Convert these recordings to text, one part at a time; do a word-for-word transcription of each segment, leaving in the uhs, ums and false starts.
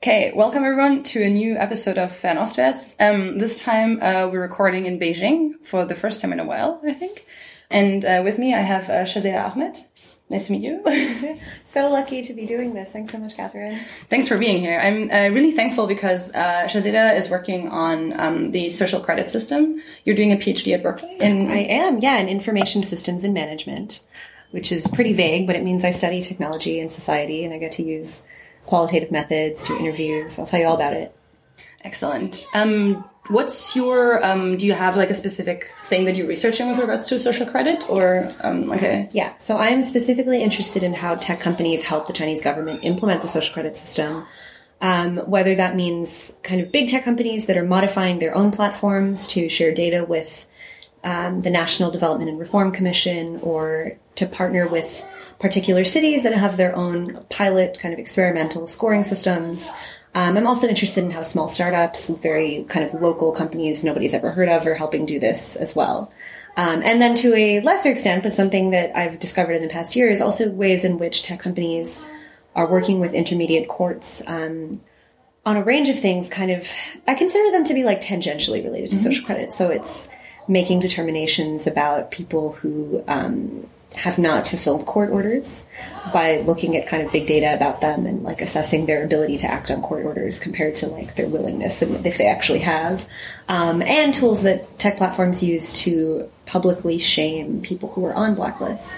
Okay, welcome everyone to a new episode of Fernostwärts. Um, this time uh, we're recording in Beijing for the first time in a while, I think. And uh, with me I have uh, Shazeda Ahmed. Nice to meet you. So lucky to be doing this. Thanks so much, Catherine. Thanks for being here. I'm uh, really thankful because uh, Shazeda is working on um, the social credit system. You're doing a PhD at Berkeley? In- I am, yeah, in information systems and management, which is pretty vague, but it means I study technology and society, and I get to use qualitative methods, do interviews. I'll tell you all about it. Excellent. Um, what's your, um, do you have like a specific thing that you're researching with regards to social credit or, um, okay. Yeah, so I'm specifically interested in how tech companies help the Chinese government implement the social credit system. Um, whether that means kind of big tech companies that are modifying their own platforms to share data with um, the National Development and Reform Commission, or to partner with particular cities that have their own pilot kind of experimental scoring systems. Um, I'm also interested in how small startups, very kind of local companies nobody's ever heard of, are helping do this as well. Um, and then to a lesser extent, but something that I've discovered in the past year, is also ways in which tech companies are working with intermediate courts um, on a range of things. Kind of, I consider them to be like tangentially related to mm-hmm. social credit. So it's making determinations about people who um, have not fulfilled court orders by looking at kind of big data about them and like assessing their ability to act on court orders compared to like their willingness and if they actually have. Um, and tools that tech platforms use to publicly shame people who are on blacklists.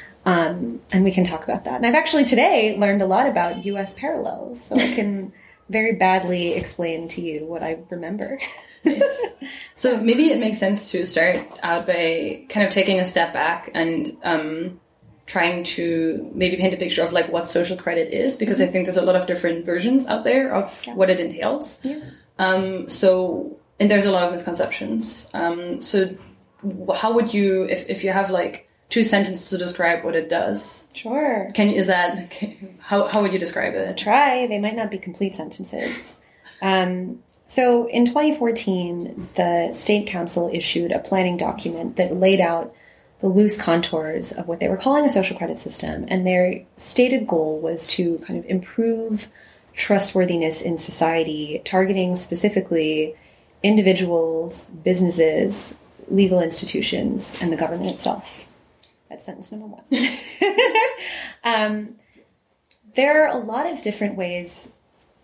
Um, and we can talk about that. And I've actually today learned a lot about U S parallels, so I can very badly explain to you what I remember. Nice. So maybe it makes sense to start out by kind of taking a step back and um, trying to maybe paint a picture of like what social credit is, because mm-hmm. I think there's a lot of different versions out there of yeah. what it entails. Yeah. Um, so, and there's a lot of misconceptions. Um, so how would you, if, if you have like two sentences to describe what it does? Sure. Can you, is that, how, how would you describe it? Try. They might not be complete sentences. Um, So in twenty fourteen, the State Council issued a planning document that laid out the loose contours of what they were calling a social credit system. And their stated goal was to kind of improve trustworthiness in society, targeting specifically individuals, businesses, legal institutions, and the government itself. That's sentence number one. um, there are a lot of different ways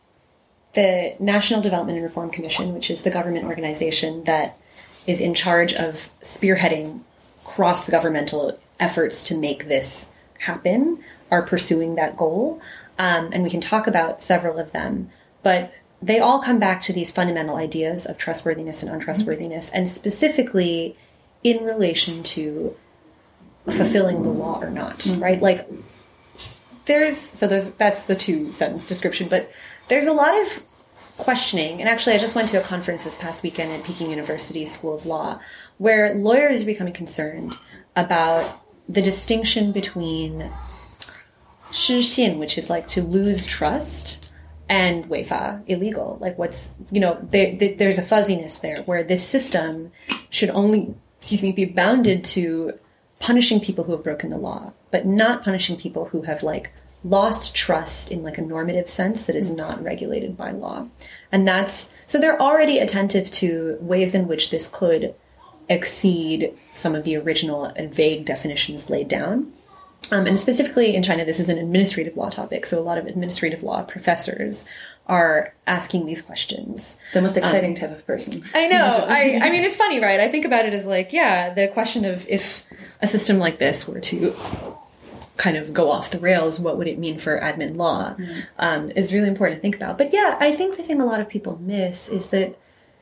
the National Development and Reform Commission, which is the government organization that is in charge of spearheading cross-governmental efforts to make this happen, are pursuing that goal. Um, and we can talk about several of them. But they all come back to these fundamental ideas of trustworthiness and untrustworthiness, mm-hmm. and specifically in relation to fulfilling the law or not, mm-hmm. right? Like, there's, so there's, that's the two-sentence description, but there's a lot of questioning, and actually I just went to a conference this past weekend at Peking University School of Law, where lawyers are becoming concerned about the distinction between 失信, which is like to lose trust, and 违法, illegal. Like what's, you know, there, there, there's a fuzziness there where this system should only, excuse me, be bounded to punishing people who have broken the law, but not punishing people who have like lost trust in like a normative sense that is not regulated by law. And that's, so they're already attentive to ways in which this could exceed some of the original and vague definitions laid down. Um, and specifically in China, this is an administrative law topic. So a lot of administrative law professors are asking these questions. The most exciting um, type of person. I know. I, I mean, it's funny, right? I think about it as like, yeah, the question of if a system like this were to kind of go off the rails, what would it mean for admin law, mm. um, is really important to think about. But yeah, I think the thing a lot of people miss is that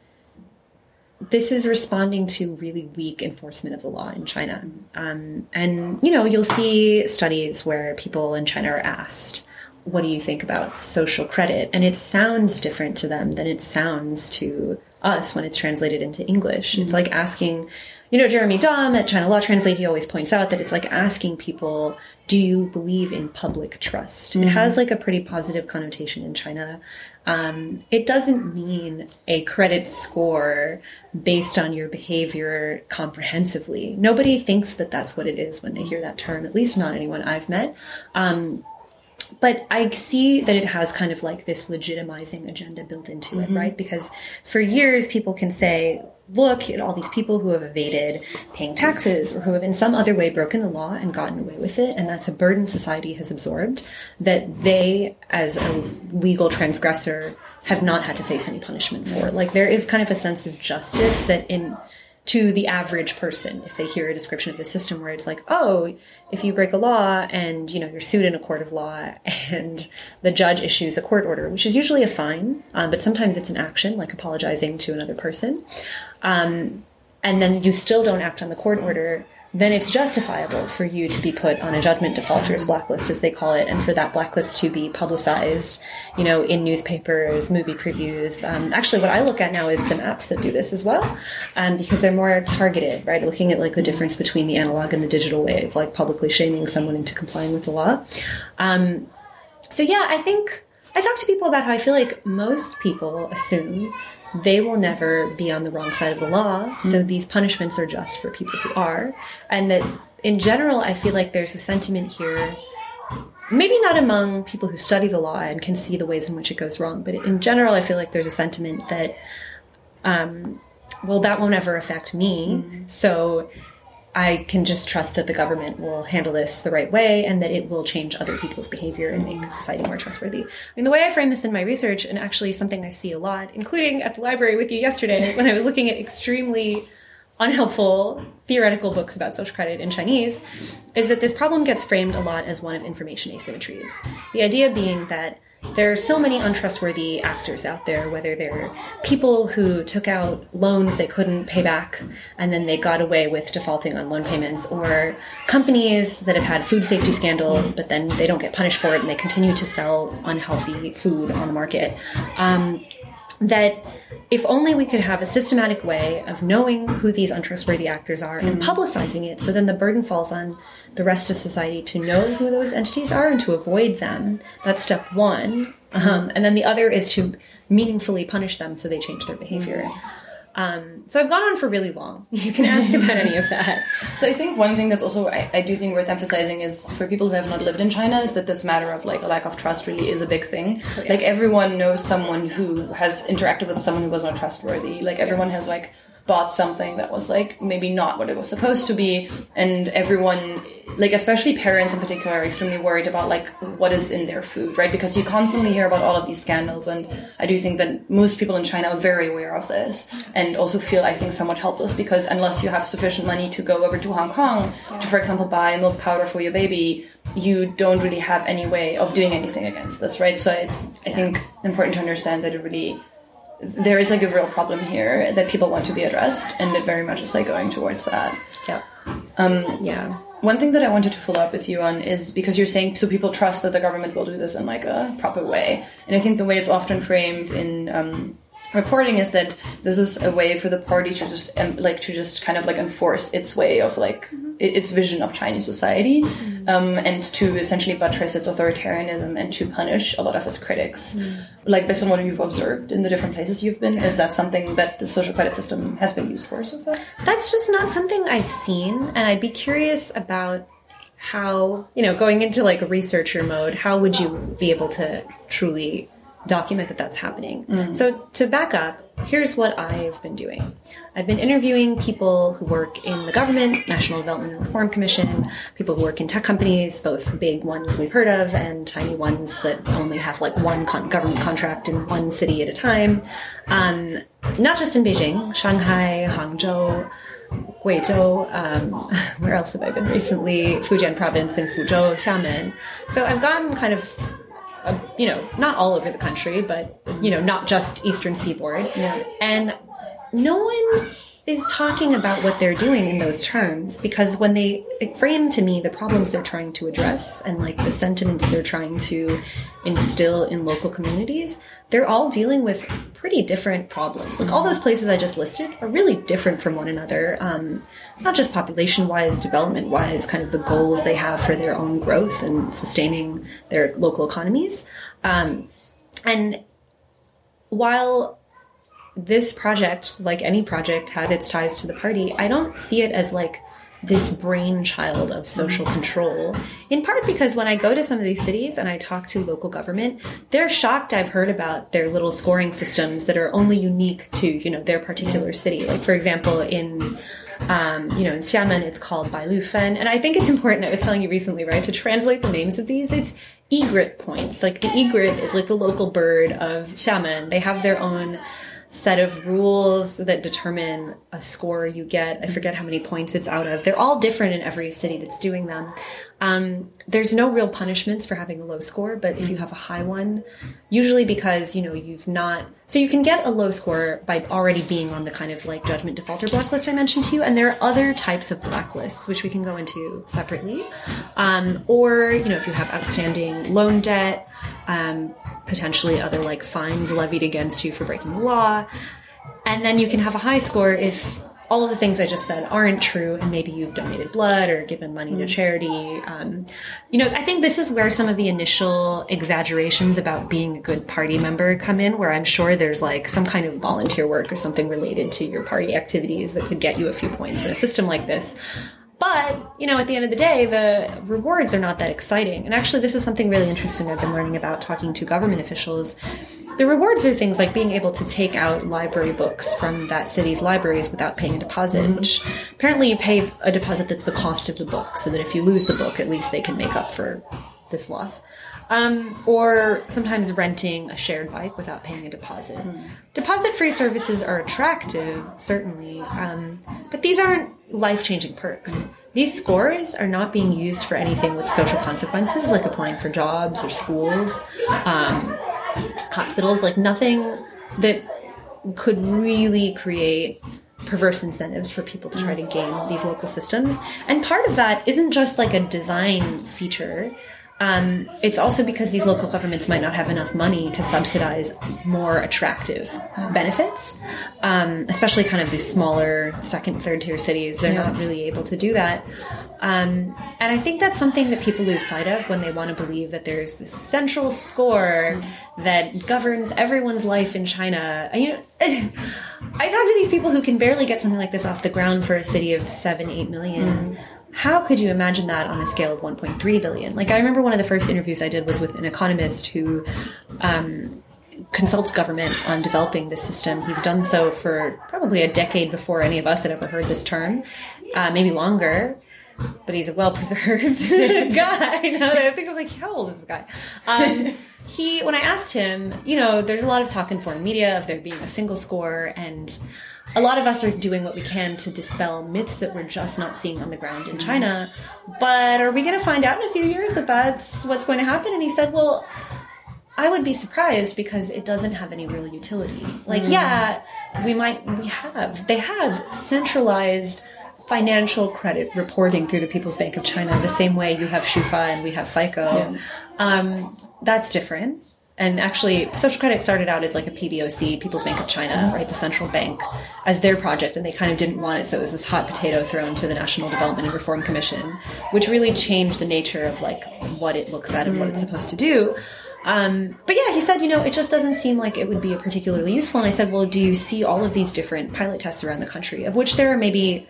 this is responding to really weak enforcement of the law in China. Um, and, you know, you'll see studies where people in China are asked, what do you think about social credit? And it sounds different to them than it sounds to us when it's translated into English. Mm-hmm. It's like asking, you know, Jeremy Dom at China Law Translate, he always points out that it's like asking people, do you believe in public trust? Mm-hmm. It has like a pretty positive connotation in China. Um, it doesn't mean a credit score based on your behavior comprehensively. Nobody thinks that that's what it is when they hear that term, at least not anyone I've met. Um, But I see that it has kind of like this legitimizing agenda built into it, mm-hmm. right? Because for years, people can say, look at all these people who have evaded paying taxes or who have in some other way broken the law and gotten away with it. And that's a burden society has absorbed that they, as a legal transgressor, have not had to face any punishment for. Like, there is kind of a sense of justice that in to the average person, if they hear a description of the system where it's like, oh, if you break a law and, you know, you're sued in a court of law and the judge issues a court order, which is usually a fine, um, but sometimes it's an action, like apologizing to another person, um, and then you still don't act on the court order, then it's justifiable for you to be put on a judgment defaulters blacklist, as they call it, and for that blacklist to be publicized, you know, in newspapers, movie previews. Um, actually, what I look at now is some apps that do this as well, um, because they're more targeted, right? Looking at, like, the difference between the analog and the digital way of, like, publicly shaming someone into complying with the law. Um, so, yeah, I think I talk to people about how I feel like most people assume they will never be on the wrong side of the law, so these punishments are just for people who are. And that, in general, I feel like there's a sentiment here, maybe not among people who study the law and can see the ways in which it goes wrong, but in general, I feel like there's a sentiment that, um, well, that won't ever affect me, mm-hmm. so I can just trust that the government will handle this the right way and that it will change other people's behavior and make society more trustworthy. I mean, the way I frame this in my research, and actually something I see a lot, including at the library with you yesterday when I was looking at extremely unhelpful theoretical books about social credit in Chinese, is that this problem gets framed a lot as one of information asymmetries. The idea being that there are so many untrustworthy actors out there, whether they're people who took out loans they couldn't pay back and then they got away with defaulting on loan payments, or companies that have had food safety scandals but then they don't get punished for it and they continue to sell unhealthy food on the market. Um, that if only we could have a systematic way of knowing who these untrustworthy actors are and publicizing it, so then the burden falls on the rest of society to know who those entities are and to avoid them. That's step one. Um, and then the other is to meaningfully punish them so they change their behavior. Um, so I've gone on for really long. You can ask about any of that. So I think one thing that's also, I, I do think worth emphasizing is for people who have not lived in China is that this matter of like a lack of trust really is a big thing. Oh, yeah. Like everyone knows someone who has interacted with someone who was not trustworthy. Like everyone has like bought something that was like maybe not what it was supposed to be, and everyone, like especially parents in particular, are extremely worried about like what is in their food, right? Because you constantly hear about all of these scandals, and I do think that most people in China are very aware of this and also feel, I think, somewhat helpless because unless you have sufficient money to go over to Hong Kong to, for example, buy milk powder for your baby, you don't really have any way of doing anything against this, right? So it's, I think, important to understand that it really, there is like a real problem here that people want to be addressed, and it very much is like going towards that. Yeah. Um, yeah. One thing that I wanted to follow up with you on is because you're saying so people trust that the government will do this in like a proper way, and I think the way it's often framed in um, reporting is that this is a way for the party to just um, like to just kind of like enforce its way of like mm-hmm. its vision of Chinese society, mm-hmm. um, and to essentially buttress its authoritarianism and to punish a lot of its critics. Mm-hmm. Like based on what you've observed in the different places you've been, is that something that the social credit system has been used for so far? That's just not something I've seen, and I'd be curious about how, you know, going into like a researcher mode, how would you be able to truly document that that's happening? Mm-hmm. So to back up, here's what I've been doing. I've been interviewing people who work in the government, National Development and Reform Commission, people who work in tech companies, both big ones we've heard of and tiny ones that only have like one con- government contract in one city at a time. Um, not just in Beijing, Shanghai, Hangzhou, Guizhou, um, where else have I been recently? Fujian province in Fuzhou, Xiamen. So I've gotten kind of Uh, you know, not all over the country, but, you know, not just Eastern Seaboard. Yeah. And no one is talking about what they're doing in those terms, because when they frame to me the problems they're trying to address and like the sentiments they're trying to instill in local communities, they're all dealing with pretty different problems. Like all those places I just listed are really different from one another, um, not just population-wise, development-wise, kind of the goals they have for their own growth and sustaining their local economies. Um, and while this project, like any project, has its ties to the party, I don't see it as like this brainchild of social control, in part because when I go to some of these cities and I talk to local government, they're shocked I've heard about their little scoring systems that are only unique to, you know, their particular city. Like, for example, in, um, you know, in Xiamen, it's called Bailufen. And I think it's important, I was telling you recently, right, to translate the names of these, it's egret points. Like, the egret is like the local bird of Xiamen. They have their own set of rules that determine a score you get. I forget how many points it's out of. They're all different in every city that's doing them. Um, there's no real punishments for having a low score, but if you have a high one, usually because, you know, you've not... So you can get a low score by already being on the kind of like judgment defaulter blacklist I mentioned to you, and there are other types of blacklists, which we can go into separately. Um, or, you know, if you have outstanding loan debt, um, potentially other like fines levied against you for breaking the law. And then you can have a high score if all of the things I just said aren't true, and maybe you've donated blood or given money mm. to charity. Um, you know, I think this is where some of the initial exaggerations about being a good party member come in, where I'm sure there's like some kind of volunteer work or something related to your party activities that could get you a few points in a system like this. But, you know, at the end of the day, the rewards are not that exciting. And actually, this is something really interesting I've been learning about talking to government officials. The rewards are things like being able to take out library books from that city's libraries without paying a deposit, mm-hmm. which apparently you pay a deposit that's the cost of the book, so that if you lose the book, at least they can make up for this loss. Um, or sometimes renting a shared bike without paying a deposit. Mm. Deposit-free services are attractive, certainly, um, but these aren't life-changing perks. These scores are not being used for anything with social consequences, like applying for jobs or schools, um, hospitals, like nothing that could really create perverse incentives for people to try to game these local systems. And part of that isn't just like a design feature. Um, it's also because these local governments might not have enough money to subsidize more attractive benefits, um, especially kind of these smaller second, third tier cities. They're yeah. not really able to do that. Um, and I think that's something that people lose sight of when they want to believe that there's this central score that governs everyone's life in China. And, you know, I talk to these people who can barely get something like this off the ground for a city of seven, eight million. Mm. How could you imagine that on a scale of one point three billion? Like, I remember one of the first interviews I did was with an economist who um, consults government on developing this system. He's done so for probably a decade before any of us had ever heard this term, uh, maybe longer. But he's a well-preserved guy. Now that I think of, like, how old is this guy? Um, he, when I asked him, you know, there's a lot of talk in foreign media of there being a single score, and a lot of us are doing what we can to dispel myths that we're just not seeing on the ground in China. But are we going to find out in a few years that that's what's going to happen? And he said, well, I would be surprised because it doesn't have any real utility. Like, mm. yeah, we might, we have, they have centralized financial credit reporting through the People's Bank of China the same way you have Shufa and we have FICO. Yeah. Um, that's different. And actually, social credit started out as like a P B O C, People's Bank of China, right, the central bank, as their project, and they kind of didn't want it, so it was this hot potato thrown to the National Development and Reform Commission, which really changed the nature of like what it looks at and what it's supposed to do. Um, but yeah, he said, you know, it just doesn't seem like it would be a particularly useful. And I said, well, do you see all of these different pilot tests around the country, of which there are maybe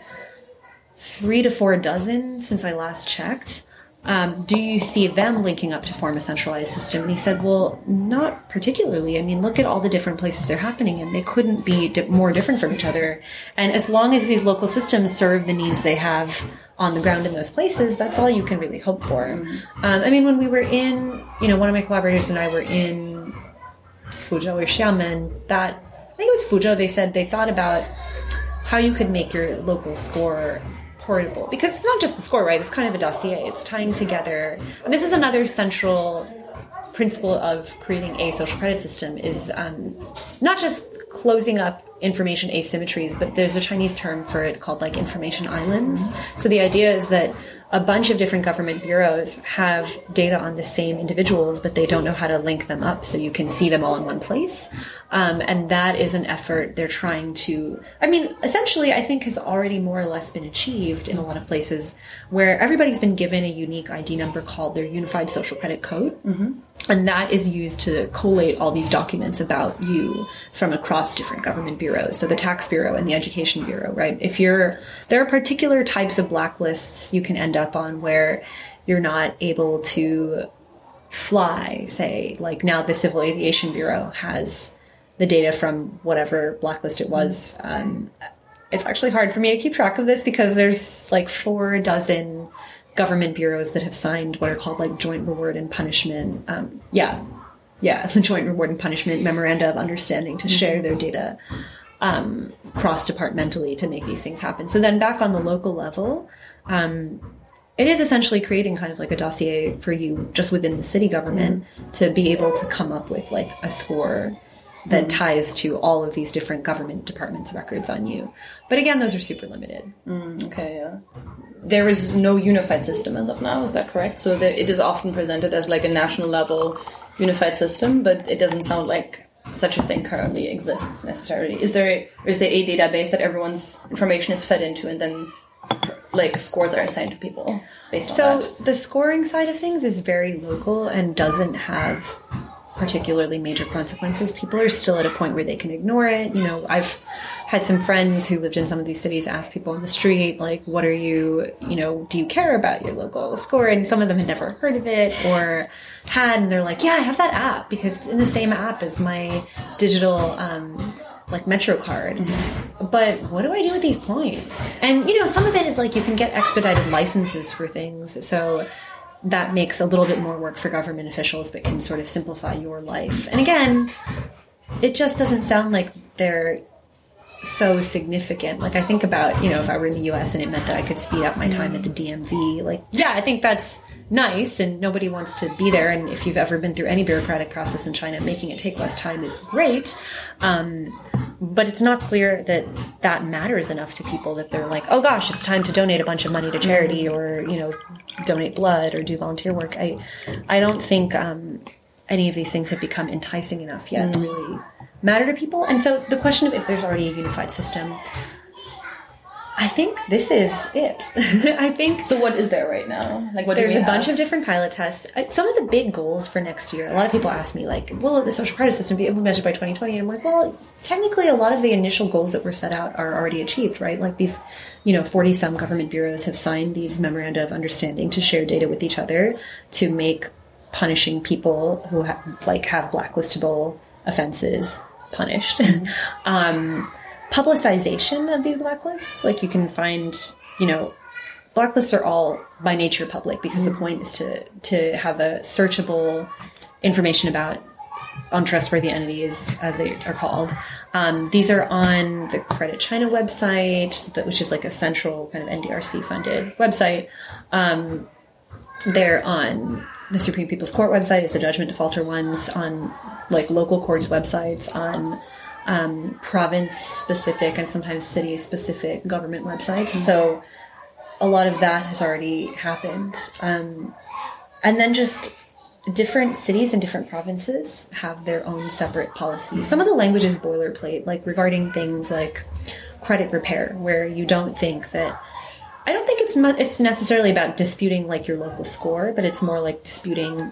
three to four dozen since I last checked? Um, do you see them linking up to form a centralized system? And he said, well, not particularly. I mean, look at all the different places they're happening in. They couldn't be di- more different from each other. And as long as these local systems serve the needs they have on the ground in those places, that's all you can really hope for. Mm-hmm. Um, I mean, when we were in, you know, one of my collaborators and I were in Fuzhou or Xiamen, that, I think it was Fuzhou, they said they thought about how you could make your local score portable, because it's not just a score, right? It's kind of a dossier. It's tying together. And this is another central principle of creating a social credit system, is um, not just closing up information asymmetries, but there's a Chinese term for it called like information islands. So the idea is that a bunch of different government bureaus have data on the same individuals, but they don't know how to link them up so you can see them all in one place. Um, and that is an effort they're trying to, I mean, essentially, I think has already more or less been achieved in a lot of places where everybody's been given a unique I D number called their Unified Social Credit Code. Mm-hmm. And that is used to collate all these documents about you from across different government bureaus. So the Tax Bureau and the Education Bureau, right? If you're, there are particular types of blacklists you can end up on where you're not able to fly, say, like now the Civil Aviation Bureau has the data from whatever blacklist it was. Um, it's actually hard for me to keep track of this because there's like four dozen government bureaus that have signed what are called like joint reward and punishment. Um, yeah. Yeah. The joint reward and punishment memoranda of understanding to share their data, um, cross-departmentally to make these things happen. So then back on the local level, um, it is essentially creating kind of like a dossier for you just within the city government mm-hmm. to be able to come up with like a score that mm. ties to all of these different government departments' records on you. But again, those are super limited. Mm, okay, yeah. There is no unified system as of now, is that correct? So the, it is often presented as like a national level unified system, but it doesn't sound like such a thing currently exists necessarily. Is there, is there a database that everyone's information is fed into and then like scores are assigned to people based on so that? So the scoring side of things is very local and doesn't have particularly major consequences. People are still at a point where they can ignore it. You know, I've had some friends who lived in some of these cities ask people on the street, like, what are you, you know, do you care about your local score? And some of them had never heard of it or had, and they're like, yeah, I have that app because it's in the same app as my digital, um, like Metro card. Mm-hmm. But what do I do with these points? And, you know, some of it is like you can get expedited licenses for things. So that makes a little bit more work for government officials, but can sort of simplify your life. And again, it just doesn't sound like they're so significant. Like I think about, you know, if I were in the U S and it meant that I could speed up my time at the D M V, like, yeah, I think that's nice and nobody wants to be there. And if you've ever been through any bureaucratic process in China, making it take less time is great. Um, but it's not clear that that matters enough to people that they're like, oh gosh, it's time to donate a bunch of money to charity or, you know, donate blood or do volunteer work. I, I don't think, um, any of these things have become enticing enough yet mm. to really matter to people. And so the question of if there's already a unified system, I think this is it. I think. So what is there right now? Like, what there's do we a have? bunch of different pilot tests. Some of the big goals for next year. A lot of people ask me, like, will the social credit system be implemented by twenty twenty? And I'm like, well, technically, a lot of the initial goals that were set out are already achieved, right? Like these, you know, forty some government bureaus have signed these memoranda of understanding to share data with each other to make punishing people who have, like have blacklistable offenses punished. um, publicization of these blacklists, like you can find, you know, blacklists are all by nature public because mm-hmm. the point is to to have a searchable information about untrustworthy entities, as they are called. Um, these are on the Credit China website, which is like a central kind of N D R C funded website. Um, they're on the Supreme People's Court website, is the judgment defaulter ones, on like local courts websites, on um, province-specific and sometimes city-specific government websites. Mm-hmm. So a lot of that has already happened. Um, and then just different cities and different provinces have their own separate policies. Some of the language is boilerplate, like regarding things like credit repair, where you don't think that... I don't think it's mu- it's necessarily about disputing like your local score, but it's more like disputing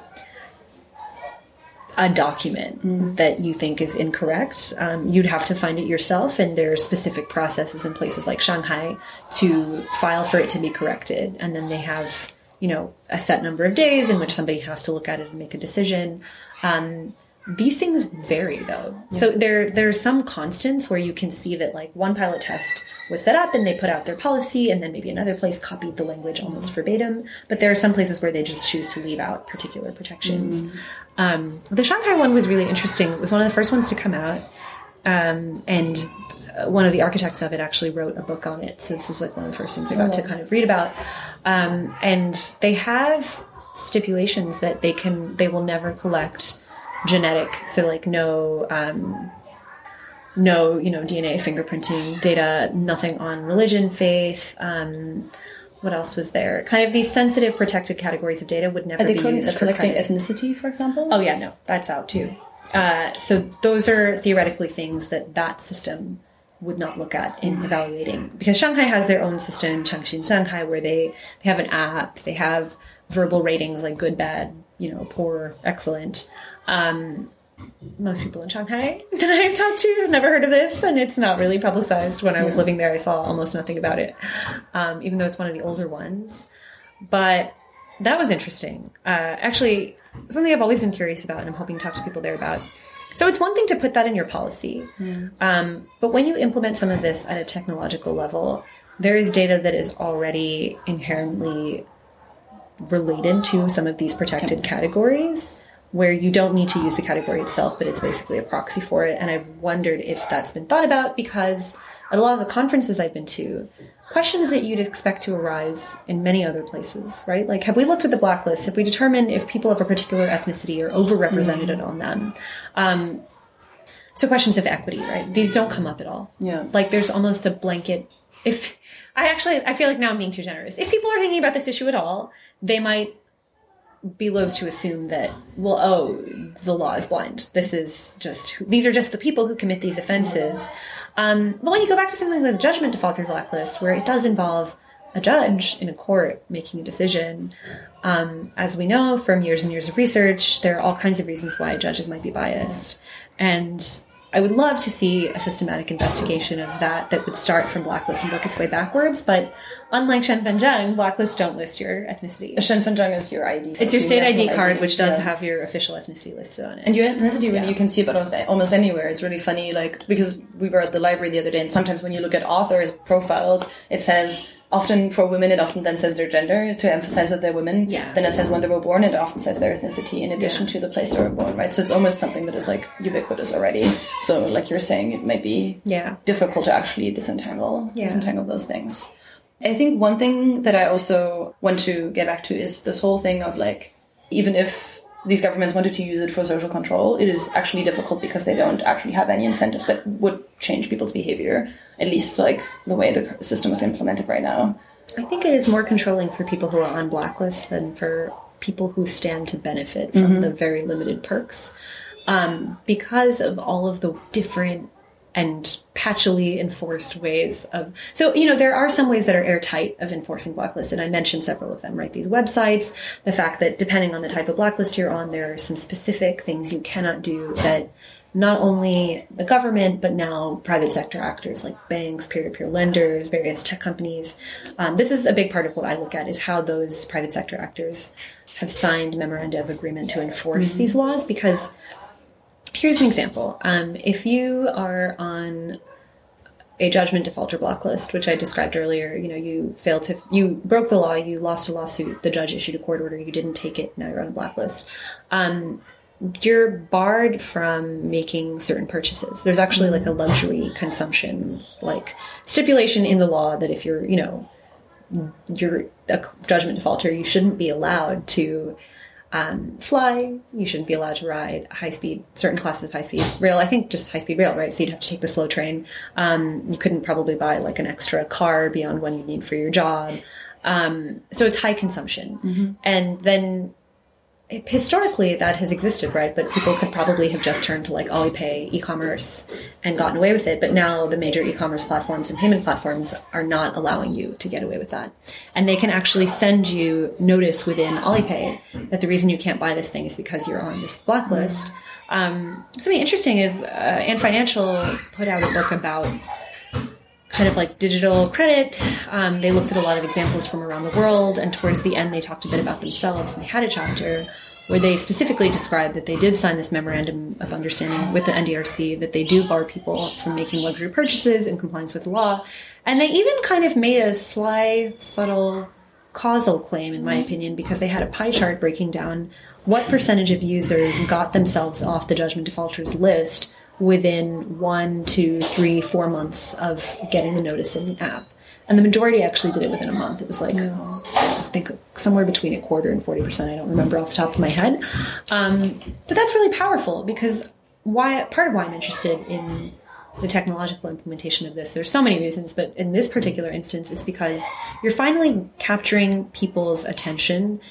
a document mm. that you think is incorrect. Um, you'd have to find it yourself, and there are specific processes in places like Shanghai to file for it to be corrected. And then they have, you know, a set number of days in which somebody has to look at it and make a decision. Um, these things vary, though. Yeah. So there there are some constants where you can see that, like, one pilot test was set up and they put out their policy, and then maybe another place copied the language almost mm. verbatim. But there are some places where they just choose to leave out particular protections. Mm. Um, the Shanghai one was really interesting. It was one of the first ones to come out. Um, and one of the architects of it actually wrote a book on it. So this was like one of the first things I got oh. to kind of read about. Um, and they have stipulations that they can, they will never collect genetic, so like no, um, no, you know, D N A fingerprinting data, nothing on religion, faith. Um, what else was there? Kind of these sensitive, protected categories of data would never Are they be used for collecting credit. Ethnicity, for example? Oh yeah, no, that's out too. uh, so those are theoretically things that that system would not look at in evaluating. Because Shanghai has their own system, Changxin Shanghai, where they, they have an app, they have verbal ratings like good, bad, you know, poor, excellent. Um, most people in Shanghai that I've talked to have never heard of this, and it's not really publicized. When I was yeah. living there, I saw almost nothing about it, um, even though it's one of the older ones. But that was interesting. Uh, actually, something I've always been curious about, and I'm hoping to talk to people there about. So it's one thing to put that in your policy, mm. um, but when you implement some of this at a technological level, there is data that is already inherently related to some of these protected okay. categories, where you don't need to use the category itself, but it's basically a proxy for it. And I've wondered if that's been thought about, because at a lot of the conferences I've been to, questions that you'd expect to arise in many other places, right? Like, have we looked at the blacklist? Have we determined if people of a particular ethnicity are overrepresented mm-hmm. on them? Um, so questions of equity, right? These don't come up at all. Yeah. Like, there's almost a blanket. If I actually, I feel like now I'm being too generous. If people are thinking about this issue at all, they might be loath to assume that, well, oh, the law is blind. This is just, these are just the people who commit these offenses. Um, but when you go back to something like the judgment defaulter blacklist, where it does involve a judge in a court making a decision, um, as we know from years and years of research, there are all kinds of reasons why judges might be biased. And I would love to see a systematic investigation of that that would start from blacklist and work its way backwards. But unlike Shenfenzheng, blacklists don't list your ethnicity. Shenfenzheng is your I D. It's your state I D card, I D, which does yeah. have your official ethnicity listed on it. And your ethnicity, really, yeah. you can see it almost, almost anywhere. It's really funny, like, because we were at the library the other day, and sometimes when you look at authors' profiles, it says, often for women, it often then says their gender to emphasize that they're women. Yeah. Then it says when they were born, it often says their ethnicity in addition yeah. to the place they were born, right? So it's almost something that is like ubiquitous already. So like you're saying, it might be yeah. difficult to actually disentangle, yeah. disentangle those things. I think one thing that I also want to get back to is this whole thing of like, even if these governments wanted to use it for social control, it is actually difficult because they don't actually have any incentives that would change people's behavior, at least like the way the system is implemented right now. I think it is more controlling for people who are on blacklists than for people who stand to benefit from mm-hmm. the very limited perks. Um, because of all of the different and patchily enforced ways of... So, you know, there are some ways that are airtight of enforcing blacklists, and I mentioned several of them, right? These websites, the fact that depending on the type of blacklist you're on, there are some specific things you cannot do that not only the government, but now private sector actors like banks, peer-to-peer lenders, various tech companies. Um, this is a big part of what I look at, is how those private sector actors have signed memoranda of agreement to enforce mm-hmm. these laws, because... Here's an example. Um, if you are on a judgment defaulter blacklist, which I described earlier, you know, you failed to, you broke the law, you lost a lawsuit, the judge issued a court order, you didn't take it, now you're on a blacklist. Um, you're barred from making certain purchases. There's actually like a luxury consumption, like stipulation in the law that if you're, you know, you're a judgment defaulter, you shouldn't be allowed to Um, fly, you shouldn't be allowed to ride high-speed, certain classes of high-speed rail. I think just high-speed rail, right? So you'd have to take the slow train. Um, you couldn't probably buy like an extra car beyond one you need for your job. Um, so it's high consumption. Mm-hmm. And then it, historically that has existed, right? But people could probably have just turned to like Alipay, e-commerce, and gotten away with it. But now the major e-commerce platforms and payment platforms are not allowing you to get away with that. And they can actually send you notice within Alipay that the reason you can't buy this thing is because you're on this blacklist. Um, something interesting is uh, Ant Financial put out a book about kind of like digital credit. Um, they looked at a lot of examples from around the world, and towards the end they talked a bit about themselves, and they had a chapter where they specifically described that they did sign this memorandum of understanding with the N D R C, that they do bar people from making luxury purchases in compliance with the law. And they even kind of made a sly, subtle, causal claim, in my opinion, because they had a pie chart breaking down what percentage of users got themselves off the judgment defaulters list within one, two, three, four months of getting the notice in the app. And the majority actually did it within a month. It was like, yeah. I think somewhere between a quarter and forty percent. I don't remember off the top of my head. Um, but that's really powerful, because why? Part of why I'm interested in the technological implementation of this, there's so many reasons, but in this particular instance, it's because you're finally capturing people's attention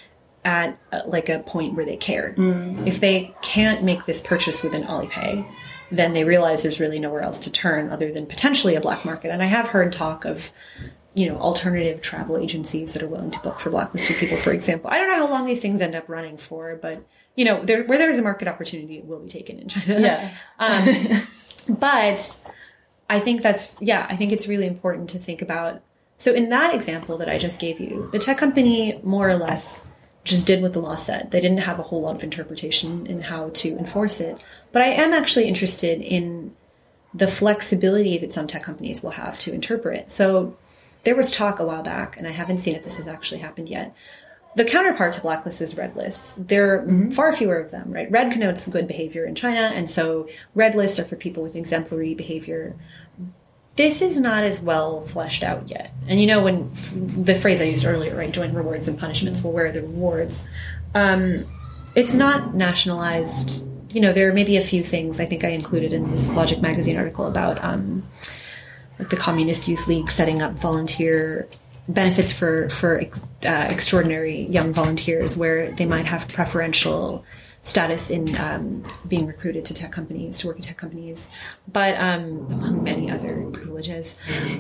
at uh, like a point where they care. Mm. If they can't make this purchase within Alipay, then they realize there's really nowhere else to turn other than potentially a black market. And I have heard talk of, you know, alternative travel agencies that are willing to book for blacklisted people, for example. I don't know how long these things end up running for, but, you know, there, where there's a market opportunity, it will be taken in China. Yeah. um, but I think that's, yeah, I think it's really important to think about. So in that example that I just gave you, the tech company more or less just did what the law said. They didn't have a whole lot of interpretation in how to enforce it. But I am actually interested in the flexibility that some tech companies will have to interpret. So there was talk a while back, and I haven't seen if this has actually happened yet. The counterpart to blacklist is red lists. There are mm-hmm. far fewer of them, right? Red connotes good behavior in China, and so red lists are for people with exemplary behavior. This is not as well fleshed out yet. And you know, when the phrase I used earlier, right, joint rewards and punishments, well, where are the rewards? Um, it's not nationalized. You know, there are maybe a few things I think I included in this Logic magazine article about um, like the Communist Youth League setting up volunteer benefits for, for ex, uh, extraordinary young volunteers where they might have preferential status in um, being recruited to tech companies, to work at tech companies, but um, among many other privileges.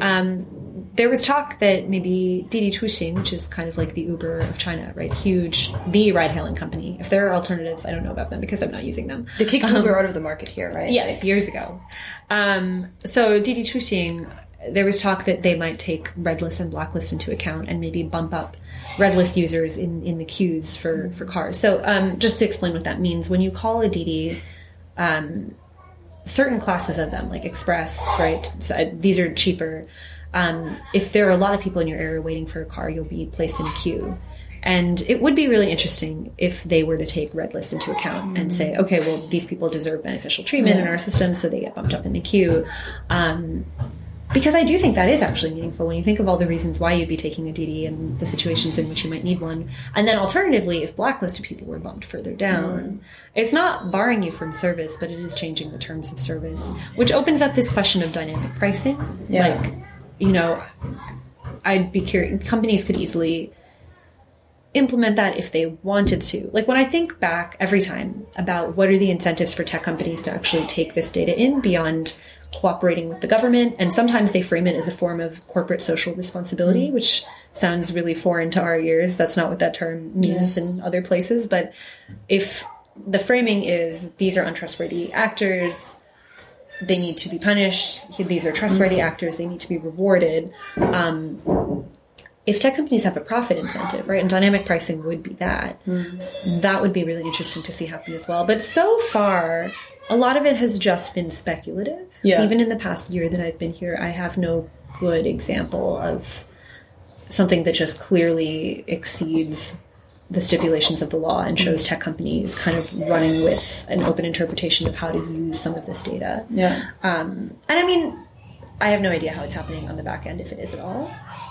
Um, there was talk that maybe Didi Chuxing, which is kind of like the Uber of China, right? Huge, the ride-hailing company. If there are alternatives, I don't know about them because I'm not using them. They kicked um, Uber out of the market here, right? Yes, like, years ago. Um, so Didi Chuxing, there was talk that they might take red list and blacklist into account and maybe bump up red list users in, in the queues for, for cars. So um, just to explain what that means, when you call a Didi, um, certain classes of them, like Express, right, so these are cheaper. Um, if there are a lot of people in your area waiting for a car, you'll be placed in a queue. And it would be really interesting if they were to take red list into account and say, okay, well, these people deserve beneficial treatment yeah. in our system, so they get bumped up in the queue. Um, Because I do think that is actually meaningful when you think of all the reasons why you'd be taking a Didi and the situations in which you might need one. And then alternatively, if blacklisted people were bumped further down, mm. it's not barring you from service, but it is changing the terms of service, which opens up this question of dynamic pricing. Yeah. Like, you know, I'd be curious, companies could easily implement that if they wanted to. Like when I think back every time about what are the incentives for tech companies to actually take this data in beyond cooperating with the government, and sometimes they frame it as a form of corporate social responsibility, which sounds really foreign to our ears. That's not what that term means yeah. in other places. But if the framing is these are untrustworthy actors, they need to be punished, these are trustworthy mm-hmm. actors, they need to be rewarded. Um, if tech companies have a profit incentive, right, and dynamic pricing would be that, mm-hmm. that would be really interesting to see happen as well. But so far, a lot of it has just been speculative. Yeah. Even in the past year that I've been here, I have no good example of something that just clearly exceeds the stipulations of the law and shows tech companies kind of running with an open interpretation of how to use some of this data. Yeah. Um, and I mean, I have no idea how it's happening on the back end, if it is at all.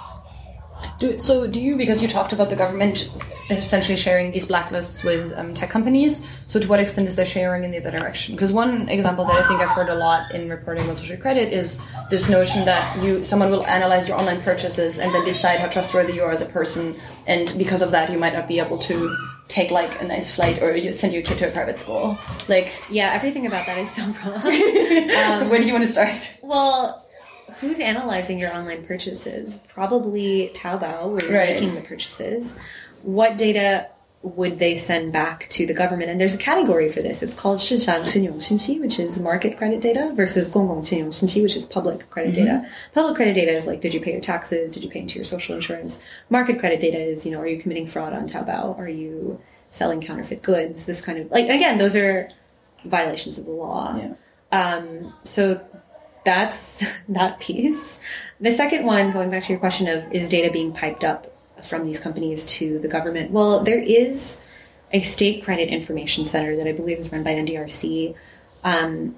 Do, so do you, because you talked about the government essentially sharing these blacklists with um, tech companies, so to what extent is there sharing in the other direction? Because one example that I think I've heard a lot in reporting on social credit is this notion that you someone will analyze your online purchases and then decide how trustworthy you are as a person, and because of that you might not be able to take like a nice flight or you send your kid to a private school. Like, yeah, everything about that is so wrong. um, Where do you want to start? Well, who's analyzing your online purchases? Probably Taobao, where you're right. making the purchases. What data would they send back to the government? And there's a category for this. It's called 市场信用信息, which is market credit data, versus 公共信用信息, which is public credit mm-hmm. data. Public credit data is like, did you pay your taxes? Did you pay into your social insurance? Market credit data is, you know, are you committing fraud on Taobao? Are you selling counterfeit goods? This kind of, like, again, those are violations of the law. Yeah. Um, so that's that piece. The second one, going back to your question of, is data being piped up from these companies to the government? Well, there is a state credit information center that I believe is run by N D R C. Um,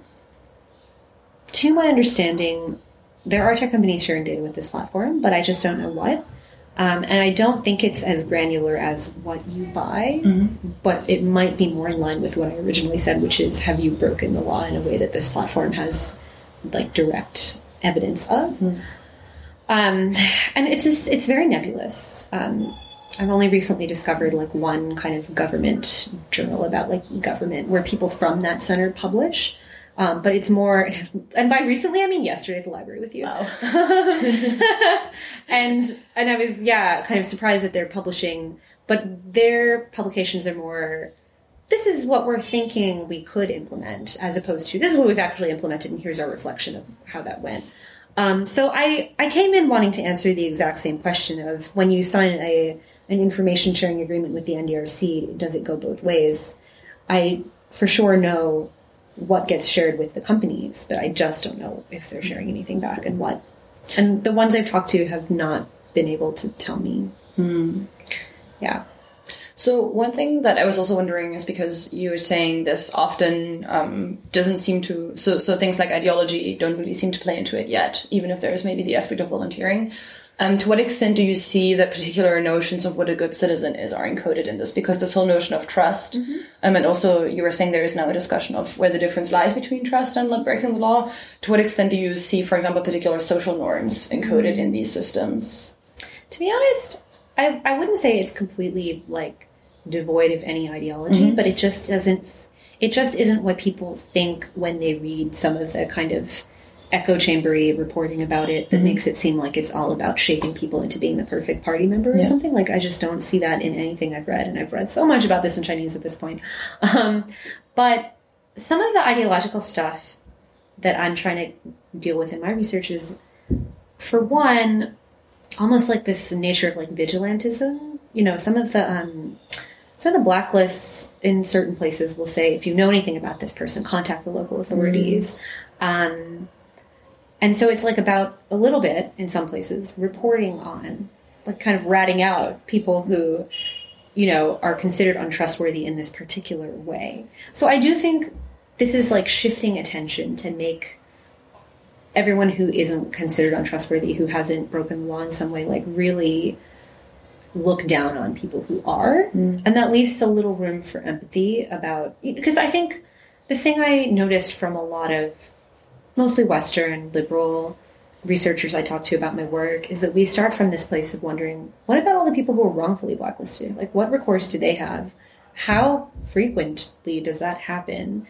to my understanding, there are tech companies sharing data with this platform, but I just don't know what. Um, and I don't think it's as granular as what you buy, mm-hmm. but it might be more in line with what I originally said, which is, have you broken the law in a way that this platform has like direct evidence of? Mm-hmm. Um, and it's just, it's very nebulous. Um, I've only recently discovered like one kind of government journal about like e-government where people from that center publish. Um, but it's more, and by recently, I mean yesterday at the library with you. Wow. and, and I was, yeah, kind of surprised that they're publishing, but their publications are more, this is what we're thinking we could implement, as opposed to, this is what we've actually implemented, and here's our reflection of how that went. Um, so I, I came in wanting to answer the exact same question of, when you sign a an information sharing agreement with the N D R C, does it go both ways? I for sure know what gets shared with the companies, but I just don't know if they're sharing anything back and what. And the ones I've talked to have not been able to tell me. Hmm. Yeah. So one thing that I was also wondering is because you were saying this often um, doesn't seem to, so, so things like ideology don't really seem to play into it yet, even if there's maybe the aspect of volunteering. Um, to what extent do you see that particular notions of what a good citizen is are encoded in this? Because this whole notion of trust, mm-hmm. um, and also you were saying there is now a discussion of where the difference lies between trust and breaking the law. To what extent do you see, for example, particular social norms encoded mm-hmm. in these systems? To be honest, I, I wouldn't say it's completely like devoid of any ideology, mm-hmm. but it just doesn't, it just isn't what people think when they read some of the kind of echo chambery reporting about it that mm-hmm. makes it seem like it's all about shaping people into being the perfect party member or yeah. something. Like, I just don't see that in anything I've read, and I've read so much about this in Chinese at this point. Um, but some of the ideological stuff that I'm trying to deal with in my research is, for one, almost like this nature of like vigilantism. You know, some of the um, some of the blacklists in certain places will say, if you know anything about this person, contact the local authorities. Mm-hmm. Um, And so it's like about a little bit, in some places, reporting on, like kind of ratting out people who, you know, are considered untrustworthy in this particular way. So I do think this is like shifting attention to make everyone who isn't considered untrustworthy, who hasn't broken the law in some way, like really look down on people who are. Mm. And that leaves a little room for empathy about, because I think the thing I noticed from a lot of mostly Western, liberal researchers I talk to about my work is that we start from this place of wondering, what about all the people who were wrongfully blacklisted? Like, what recourse do they have? How frequently does that happen?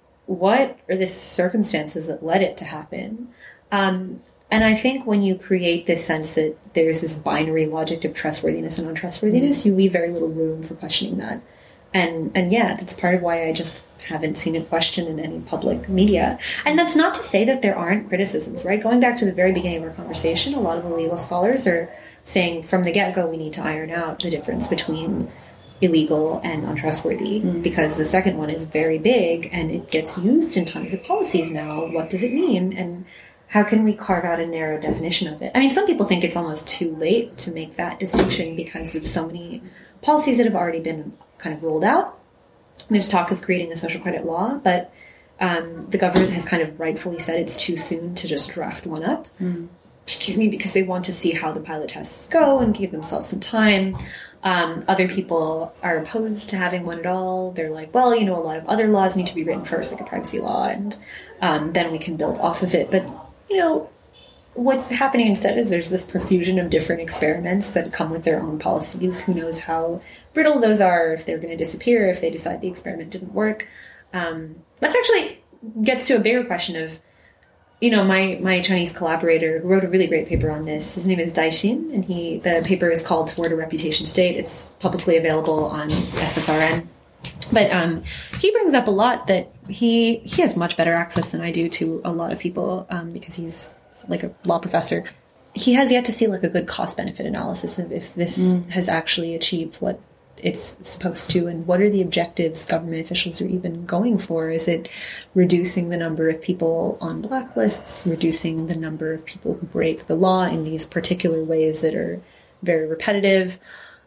What are the circumstances that led it to happen? Um, and I think when you create this sense that there's this binary logic of trustworthiness and untrustworthiness, mm-hmm. you leave very little room for questioning that. And and yeah, that's part of why I just haven't seen it questioned in any public media. And that's not to say that there aren't criticisms, right? Going back to the very beginning of our conversation, a lot of the legal scholars are saying from the get-go we need to iron out the difference between illegal and untrustworthy, mm. because the second one is very big and it gets used in tons of policies now. What does it mean? And how can we carve out a narrow definition of it? I mean, some people think it's almost too late to make that distinction because of so many policies that have already been kind of rolled out. There's talk of creating a social credit law, but um, the government has kind of rightfully said it's too soon to just draft one up. Mm. Excuse me, because they want to see how the pilot tests go and give themselves some time. Um, other people are opposed to having one at all. They're like, well, you know, a lot of other laws need to be written first, like a privacy law, and um, then we can build off of it. But, you know, what's happening instead is there's this profusion of different experiments that come with their own policies. Who knows how brittle those are, if they're going to disappear, if they decide the experiment didn't work. Um, that's actually gets to a bigger question of, you know, my, my Chinese collaborator who wrote a really great paper on this, his name is Dai Xin, and he the paper is called Toward a Reputation State. It's publicly available on S S R N. But um, he brings up a lot that he he has much better access than I do to a lot of people um, because he's like a law professor. He has yet to see like a good cost-benefit analysis of if this mm. has actually achieved what it's supposed to, and what are the objectives government officials are even going for. Is it reducing the number of people on blacklists, reducing the number of people who break the law in these particular ways that are very repetitive?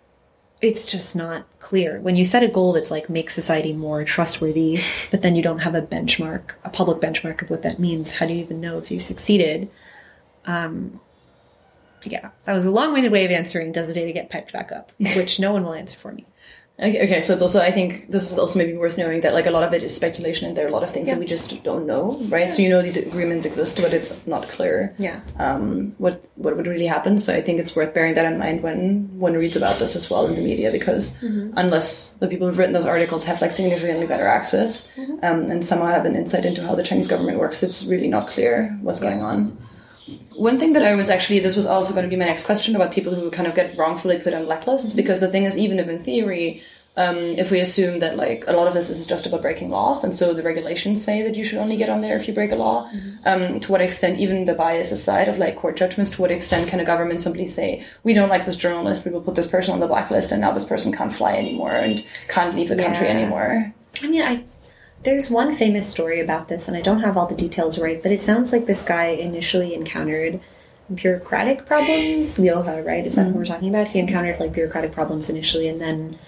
It's just not clear. When you set a goal that's like make society more trustworthy, but then you don't have a benchmark, a public benchmark of what that means, how do you even know if you succeeded? Um, Yeah, that was a long-winded way of answering, does the data get piped back up? Which no one will answer for me. Okay, okay, so it's also, I think this is also maybe worth knowing that like a lot of it is speculation and there are a lot of things yeah. that we just don't know, right? Yeah. So you know these agreements exist, but it's not clear yeah. um, what what would really happen. So I think it's worth bearing that in mind when one reads about this as well in the media, because mm-hmm. unless the people who've written those articles have like significantly better access mm-hmm. um, and somehow have an insight into how the Chinese government works, it's really not clear what's yeah. going on. One thing that I was actually, this was also going to be my next question about people who kind of get wrongfully put on blacklists, because the thing is, even if in theory, um, if we assume that like a lot of this is just about breaking laws, and so the regulations say that you should only get on there if you break a law, mm-hmm. um, to what extent, even the bias aside of like court judgments, to what extent can a government simply say, we don't like this journalist, we will put this person on the blacklist, and now this person can't fly anymore and can't leave the yeah. country anymore? I mean, I... There's one famous story about this, and I don't have all the details right, but it sounds like this guy initially encountered bureaucratic problems. Liu He, right? Is that mm-hmm. what we're talking about? He encountered like bureaucratic problems initially, and then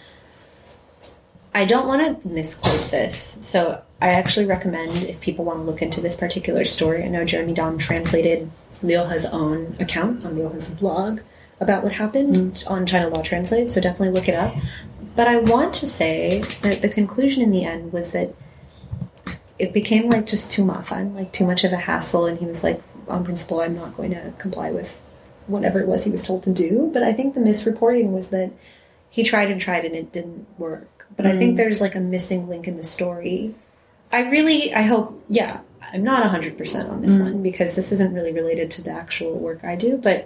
I don't want to misquote this, so I actually recommend if people want to look into this particular story. I know Jeremy Dom translated Liu He's own account on Liu He's blog about what happened mm-hmm. on China Law Translate, so definitely look it up. But I want to say that the conclusion in the end was that it became like just too mafan, like too much of a hassle, and he was like, on principle, I'm not going to comply with whatever it was he was told to do. But I think the misreporting was that he tried and tried and it didn't work. But mm. I think there's like a missing link in the story. I really, I hope, yeah, I'm not one hundred percent on this mm. one, because this isn't really related to the actual work I do, but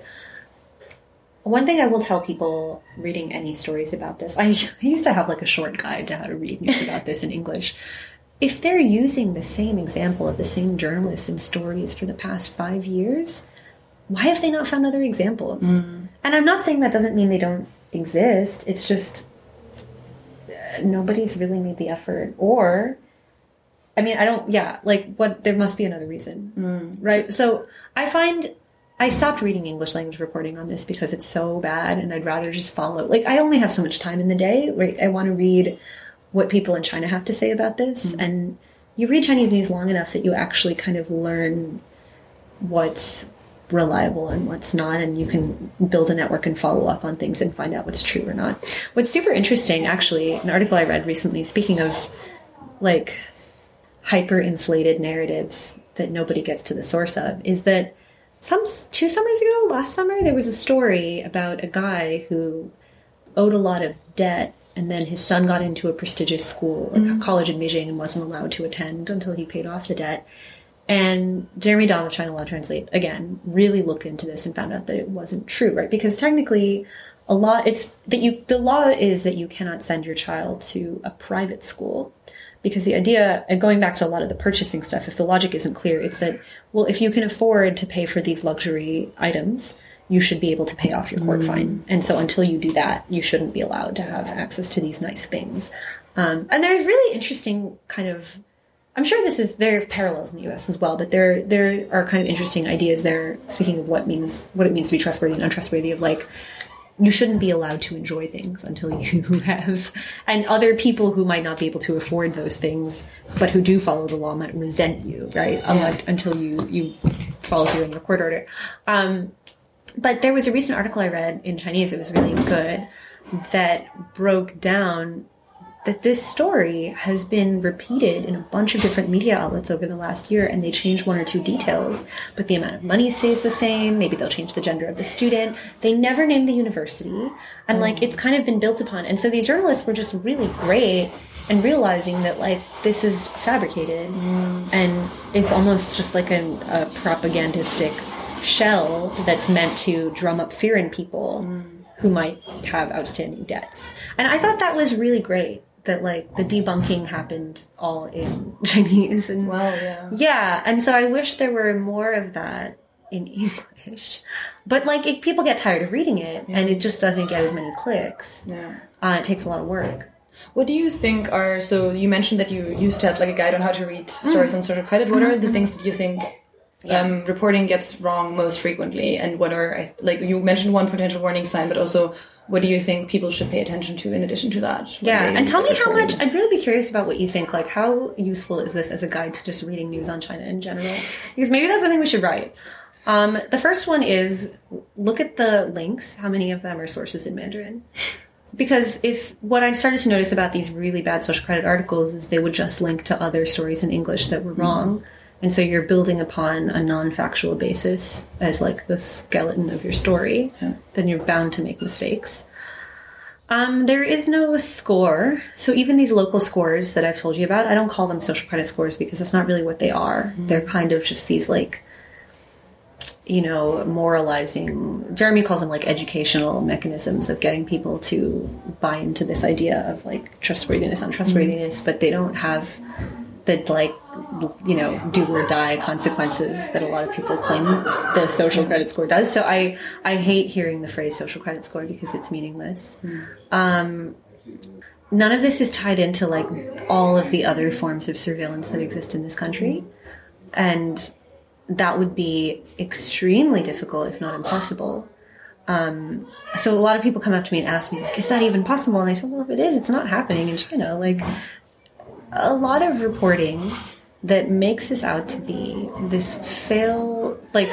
one thing I will tell people reading any stories about this, I, I used to have like a short guide to how to read news about this in English. If they're using the same example of the same journalists in stories for the past five years, why have they not found other examples? Mm. And I'm not saying that doesn't mean they don't exist. It's just uh, nobody's really made the effort. Or, I mean, I don't, yeah, like, what, there must be another reason, mm. right? So I find, I stopped reading English language reporting on this because it's so bad, and I'd rather just follow, like, I only have so much time in the day, right? I want to read what people in China have to say about this. Mm-hmm. And you read Chinese news long enough that you actually kind of learn what's reliable and what's not, and you can build a network and follow up on things and find out what's true or not. What's super interesting, actually, an article I read recently, speaking of like hyper-inflated narratives that nobody gets to the source of, is that some two summers ago, last summer, there was a story about a guy who owed a lot of debt, and then his son got into a prestigious school, like mm-hmm. a college in Beijing, and wasn't allowed to attend until he paid off the debt. And Jeremy Dom of China Law Translate, again, really looked into this and found out that it wasn't true, right? Because technically, a law, it's that you, the law is that you cannot send your child to a private school. Because the idea, and going back to a lot of the purchasing stuff, if the logic isn't clear, it's that, well, if you can afford to pay for these luxury items, you should be able to pay off your court mm. fine. And so until you do that, you shouldn't be allowed to have access to these nice things. Um, and there's really interesting kind of, I'm sure this is, there are parallels in the U S as well, but there there are kind of interesting ideas there, speaking of what means, what it means to be trustworthy and untrustworthy, of like, you shouldn't be allowed to enjoy things until you have, and other people who might not be able to afford those things, but who do follow the law might resent you, right? Yeah. Unlike, until you, you follow through in your court order. Um, But there was a recent article I read in Chinese, it was really good, that broke down that this story has been repeated in a bunch of different media outlets over the last year, and they changed one or two details, but the amount of money stays the same. Maybe they'll change the gender of the student. They never named the university, and like it's kind of been built upon. And so these journalists were just really great and realizing that like this is fabricated, mm. and it's almost just like a, a propagandistic shell that's meant to drum up fear in people mm. who might have outstanding debts. And I thought that was really great, that like the debunking happened all in Chinese. And wow, yeah. Yeah, and so I wish there were more of that in English. But like it, people get tired of reading it, yeah. and it just doesn't get as many clicks. Yeah. Uh, it takes a lot of work. What do you think are, so you mentioned that you used to have like a guide on how to read stories mm. on social credit. What are the things that you think Yeah. Um, reporting gets wrong most frequently, and what are, like you mentioned one potential warning sign, but also what do you think people should pay attention to in addition to that? Yeah, and tell me how much, I'd really be curious about what you think, like how useful is this as a guide to just reading news on China in general? Because maybe that's something we should write. Um, the first one is, look at the links, how many of them are sources in Mandarin? Because if what I started to notice about these really bad social credit articles is they would just link to other stories in English that were wrong. Mm-hmm. And so you're building upon a non-factual basis as like the skeleton of your story, yeah. Then you're bound to make mistakes. Um, there is no score. So even these local scores that I've told you about, I don't call them social credit scores because that's not really what they are. Mm-hmm. They're kind of just these like, you know, moralizing, Jeremy calls them like educational mechanisms of getting people to buy into this idea of like trustworthiness, untrustworthiness, mm-hmm. but they don't have the like, you know, do or die consequences that a lot of people claim the social credit score does. So I, I hate hearing the phrase social credit score because it's meaningless. Mm. Um, none of this is tied into like all of the other forms of surveillance that exist in this country. And that would be extremely difficult, if not impossible. Um, so a lot of people come up to me and ask me, like, is that even possible? And I said, well, if it is, it's not happening in China. Like, a lot of reporting that makes this out to be this fail, like,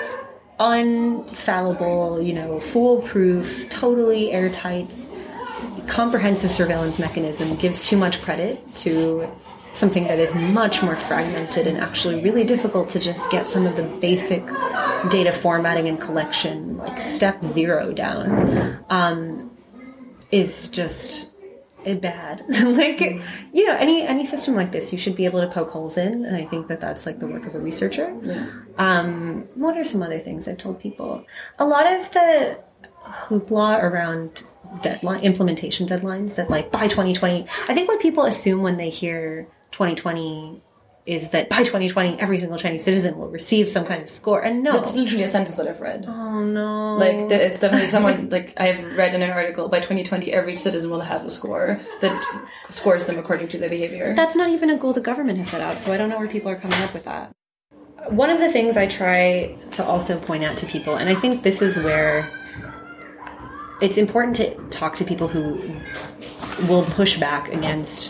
unfallible, you know, foolproof, totally airtight, comprehensive surveillance mechanism gives too much credit to something that is much more fragmented and actually really difficult to just get some of the basic data formatting and collection, like step zero down, um, is just bad. Like, you know, any any system like this, you should be able to poke holes in, and I think that that's like the work of a researcher. Yeah. Um, what are some other things I've told people? A lot of the hoopla around deadline implementation deadlines that like by twenty twenty, I think what people assume when they hear twenty twenty is that by twenty twenty every single Chinese citizen will receive some kind of score, and no, that's literally a sentence that I've read. Oh no! Like it's definitely someone like I've read in an article, by twenty twenty every citizen will have a score that scores them according to their behavior. That's not even a goal the government has set out, so I don't know where people are coming up with that. One of the things I try to also point out to people, and I think this is where it's important to talk to people who will push back against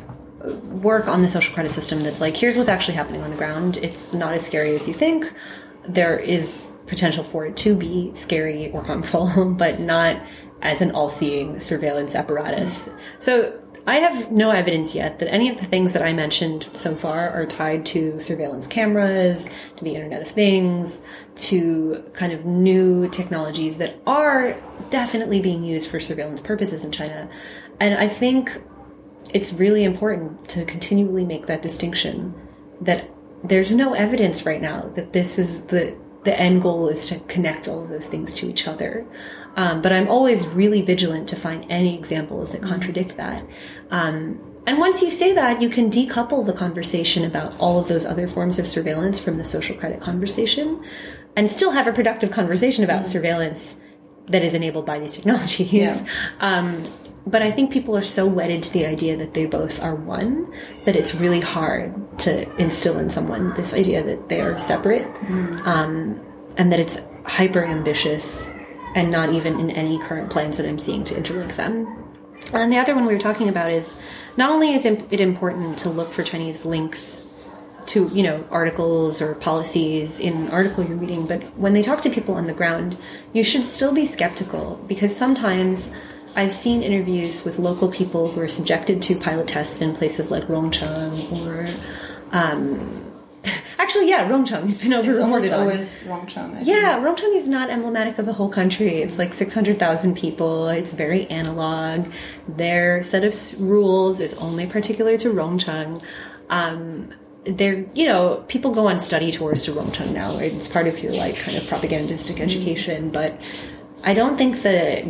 work on the social credit system that's like, here's what's actually happening on the ground. It's not as scary as you think. There is potential for it to be scary or harmful, but not as an all-seeing surveillance apparatus. So I have no evidence yet that any of the things that I mentioned so far are tied to surveillance cameras, to the Internet of Things, to kind of new technologies that are definitely being used for surveillance purposes in China. And I think it's really important to continually make that distinction, that there's no evidence right now that this is the the end goal is to connect all of those things to each other. Um, but I'm always really vigilant to find any examples that contradict that. Um, and once you say that, you can decouple the conversation about all of those other forms of surveillance from the social credit conversation and still have a productive conversation about mm-hmm. surveillance that is enabled by these technologies. Yeah. Um, But I think people are so wedded to the idea that they both are one that it's really hard to instill in someone this idea that they are separate, mm. um, and that it's hyper ambitious and not even in any current plans that I'm seeing to interlink them. And the other one we were talking about is not only is it important to look for Chinese links to, you know, articles or policies in an article you're reading, but when they talk to people on the ground, you should still be skeptical, because sometimes I've seen interviews with local people who are subjected to pilot tests in places like Rongcheng or, um, actually, yeah, Rongcheng. It's been over-reported on. It's always Rongcheng. I yeah, think. Rongcheng is not emblematic of the whole country. It's like six hundred thousand people. It's very analog. Their set of rules is only particular to Rongcheng. Um, they're, you know, people go on study tours to Rongcheng now, right? It's part of your, like, kind of propagandistic education, but I don't think that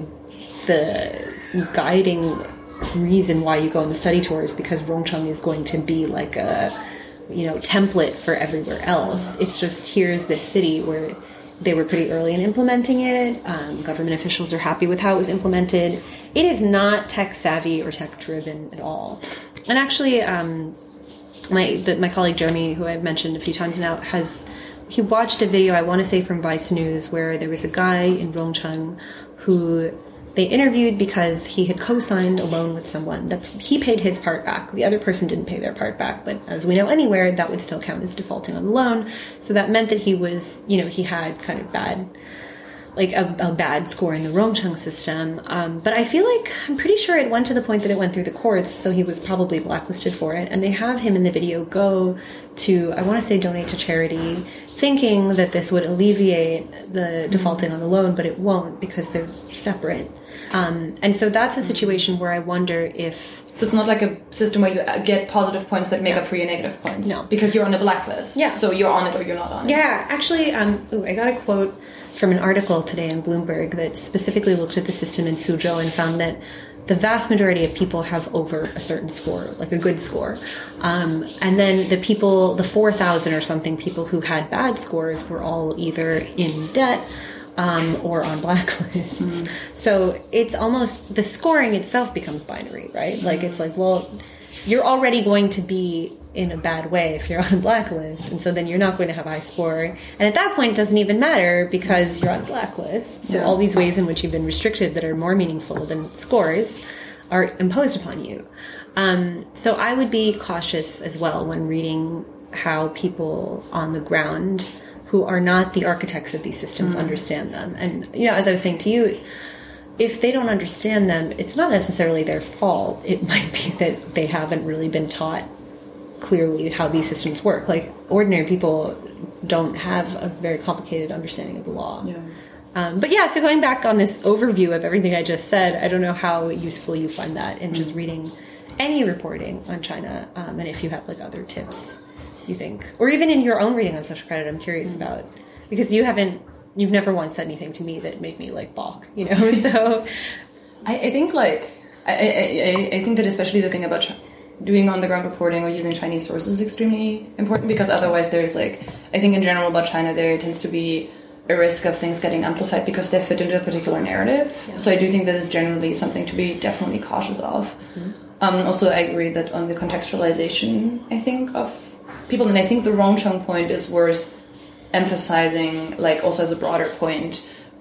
the guiding reason why you go on the study tour is because Rongcheng is going to be like a, you know, template for everywhere else. It's just, here's this city where they were pretty early in implementing it. Um, government officials are happy with how it was implemented. It is not tech savvy or tech driven at all. And actually, um, my the, my colleague Jeremy, who I've mentioned a few times now, has he watched a video, I want to say from Vice News, where there was a guy in Rongcheng who they interviewed because he had co-signed a loan with someone that he paid his part back. The other person didn't pay their part back, but as we know anywhere, that would still count as defaulting on the loan. So that meant that he was, you know, he had kind of bad like a, a bad score in the Rongcheng system. Um, but I feel like, I'm pretty sure it went to the point that it went through the courts, so he was probably blacklisted for it. And they have him in the video go to, I want to say donate to charity, thinking that this would alleviate the defaulting on the loan, but it won't because they're separate. Um, and so that's a situation where I wonder if... So it's not like a system where you get positive points that make no. up for your negative points? No. Because you're on a blacklist. Yeah. So you're on it or you're not on it. Yeah, actually, um, ooh, I got a quote from an article today in Bloomberg that specifically looked at the system in Suzhou and found that the vast majority of people have over a certain score, like a good score. Um, and then the people, the four thousand or something people who had bad scores were all either in debt um, or on blacklists. Mm. So it's almost, the scoring itself becomes binary, right? Like it's like, well, you're already going to be in a bad way if you're on a blacklist, and so then you're not going to have a high score. And at that point, it doesn't even matter because you're on a blacklist. So yeah. all these ways in which you've been restricted that are more meaningful than scores are imposed upon you. Um, so I would be cautious as well when reading how people on the ground who are not the architects of these systems mm. understand them. And, you know, as I was saying to you, if they don't understand them, it's not necessarily their fault. It might be that they haven't really been taught clearly how these systems work. Like, ordinary people don't have a very complicated understanding of the law. Yeah. Um, but yeah, so going back on this overview of everything I just said, I don't know how useful you find that in mm. just reading any reporting on China, um, and if you have like other tips you think, or even in your own reading on social credit, I'm curious mm. about, because you haven't, you've never once said anything to me that made me like balk, you know. So I, I think like I, I I think that especially the thing about Ch- doing on the ground reporting or using Chinese sources is extremely important, because otherwise there's like, I think in general about China there tends to be a risk of things getting amplified because they fit into a particular narrative. Yeah. So I do think that is generally something to be definitely cautious of. Mm-hmm. Um, also, I agree that on the contextualization, I think, of people, and I think the Rongcheng point is worth emphasizing, like also as a broader point,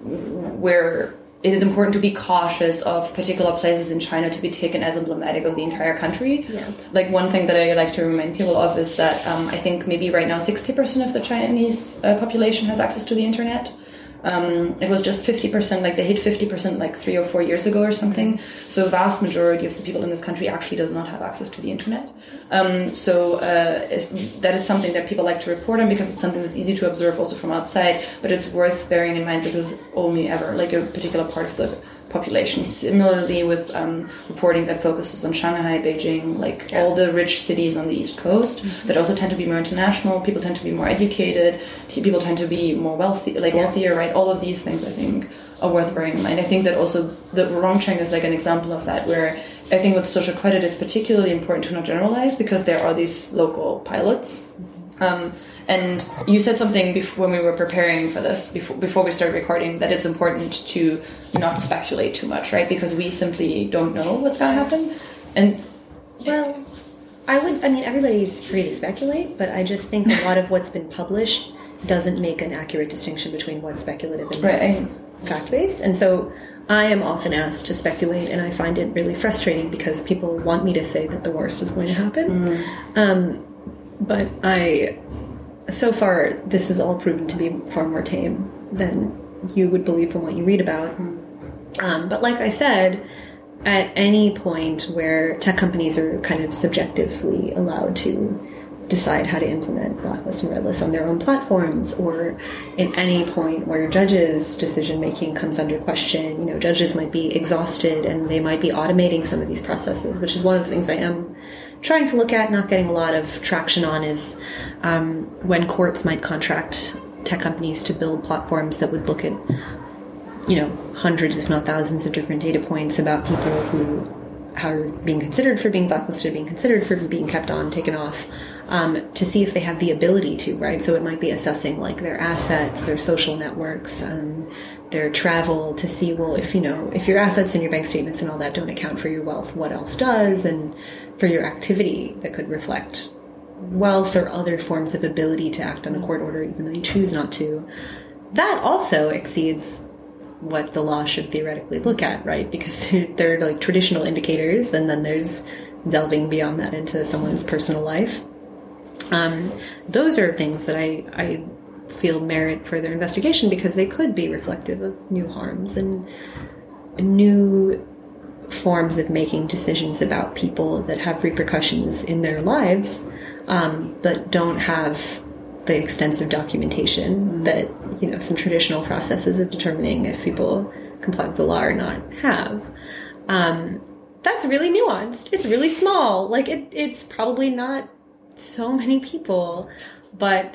where it is important to be cautious of particular places in China to be taken as emblematic of the entire country. Yeah. Like one thing that I like to remind people of is that um, I think maybe right now sixty percent of the Chinese uh, population has access to the internet. Um, it was just fifty percent, like they hit fifty percent like three or four years ago or something. So a vast majority of the people in this country actually does not have access to the internet. Um, so uh, that is something that people like to report on because it's something that's easy to observe also from outside, but it's worth bearing in mind that this is only ever like a particular part of the population. Similarly with um, reporting that focuses on Shanghai, Beijing, like yeah. all the rich cities on the East Coast mm-hmm. that also tend to be more international, people tend to be more educated, people tend to be more wealthy, like yeah. wealthier, right? All of these things I think are worth bearing in mind. I think that also the Rongcheng is like an example of that, where I think with social credit it's particularly important to not generalize because there are these local pilots. Um, And you said something before, when we were preparing for this, before before we started recording, that it's important to not speculate too much, right? Because we simply don't know what's going to happen. And well, I would. I mean, everybody's free to speculate, but I just think a lot of what's been published doesn't make an accurate distinction between what's speculative and what's right. fact-based. And so I am often asked to speculate, and I find it really frustrating because people want me to say that the worst is going to happen. Mm. Um, but I. So far, this has all proven to be far more tame than you would believe from what you read about. Um, but like I said, at any point where tech companies are kind of subjectively allowed to decide how to implement blacklist and redlist on their own platforms, or in any point where judges' decision-making comes under question, you know, judges might be exhausted and they might be automating some of these processes, which is one of the things I am trying to look at, not getting a lot of traction on, is um, when courts might contract tech companies to build platforms that would look at, you know, hundreds, if not thousands of different data points about people who are being considered for being blacklisted, being considered for being kept on, taken off, um, to see if they have the ability to, right? So it might be assessing, like, their assets, their social networks, um, their travel, to see, well, if, you know, if your assets and your bank statements and all that don't account for your wealth, what else does? And for your activity that could reflect wealth or other forms of ability to act on a court order, even though you choose not to. That also exceeds what the law should theoretically look at, right? Because there are like traditional indicators, and then there's delving beyond that into someone's personal life. Um, those are things that I, I feel merit further investigation because they could be reflective of new harms and new forms of making decisions about people that have repercussions in their lives, um, but don't have the extensive documentation mm-hmm. that, you know, some traditional processes of determining if people comply with the law or not have. Um, that's really nuanced. It's really small. Like, it, it's probably not so many people, but...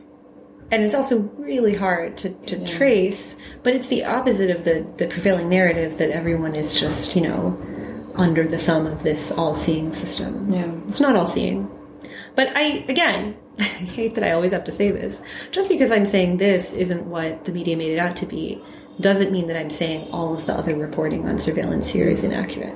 And it's also really hard to, to yeah. trace, but it's the opposite of the, the prevailing narrative that everyone is just, you know, under the thumb of this all-seeing system. Yeah. It's not all-seeing. But I, again, I hate that I always have to say this. Just because I'm saying this isn't what the media made it out to be, doesn't mean that I'm saying all of the other reporting on surveillance here is inaccurate.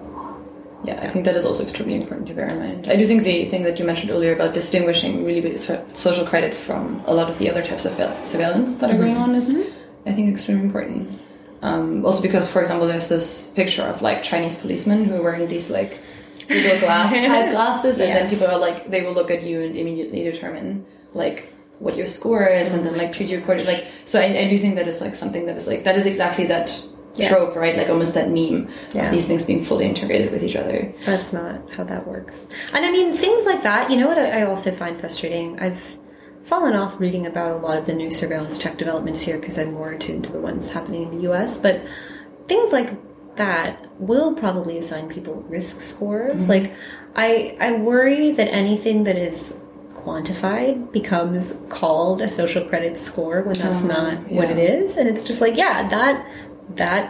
Yeah, I think that is also extremely important to bear in mind. I do think the thing that you mentioned earlier about distinguishing really social credit from a lot of the other types of surveillance that are going on is, mm-hmm. I think, extremely important. Um, also because, for example, there's this picture of, like, Chinese policemen who are wearing these, like, Google Glass type glasses, and yeah. then people are, like, they will look at you and immediately determine, like, what your score is, mm-hmm. and then, like, treat you accordingly. Like, so I, I do think that is, like, something that is, like, that is exactly that... Yeah. trope, right? Like almost that meme yeah. of these things being fully integrated with each other. That's not how that works. And I mean, things like that, you know what I also find frustrating? I've fallen off reading about a lot of the new surveillance tech developments here because I'm more attuned to the ones happening in the U S, but things like that will probably assign people risk scores. Mm-hmm. Like, I, I worry that anything that is quantified becomes called a social credit score when that's oh, not yeah. what it is. And it's just like, yeah, that... that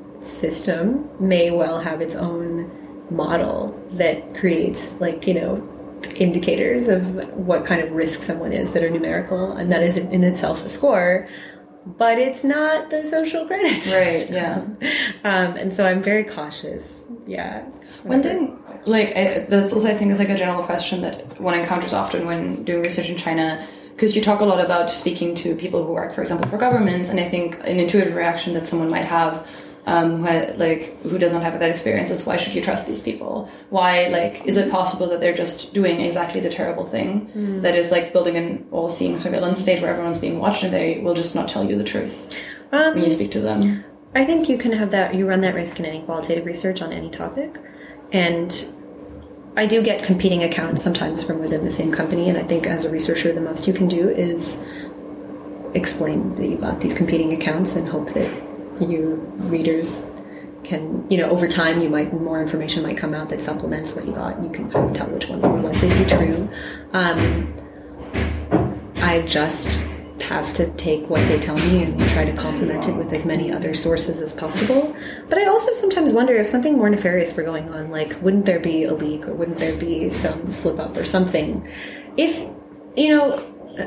system may well have its own model that creates, like, you know, indicators of what kind of risk someone is that are numerical, and that is in itself a score, but it's not the social credit system. Right, yeah. Um, and so I'm very cautious. Yeah. One thing, like, I, that's also, I think, is like a general question that one encounters often when doing research in China, because you talk a lot about speaking to people who work, for example, for governments, and I think an intuitive reaction that someone might have, um, who had, like, who does not have that experience is, why should you trust these people? Why, like, is it possible that they're just doing exactly the terrible thing mm. that is, like, building an all-seeing surveillance state where everyone's being watched and they will just not tell you the truth um, when you speak to them? I think you can have that, you run that risk in any qualitative research on any topic, and I do get competing accounts sometimes from within the same company, and I think as a researcher, the most you can do is explain that you got these competing accounts and hope that your readers can, you know, over time, you might, more information might come out that supplements what you got, and you can kind of tell which one's more likely to be true. Um, I just have to take what they tell me and try to complement it with as many other sources as possible. But I also sometimes wonder if something more nefarious were going on, like, wouldn't there be a leak, or wouldn't there be some slip up or something? If, you know,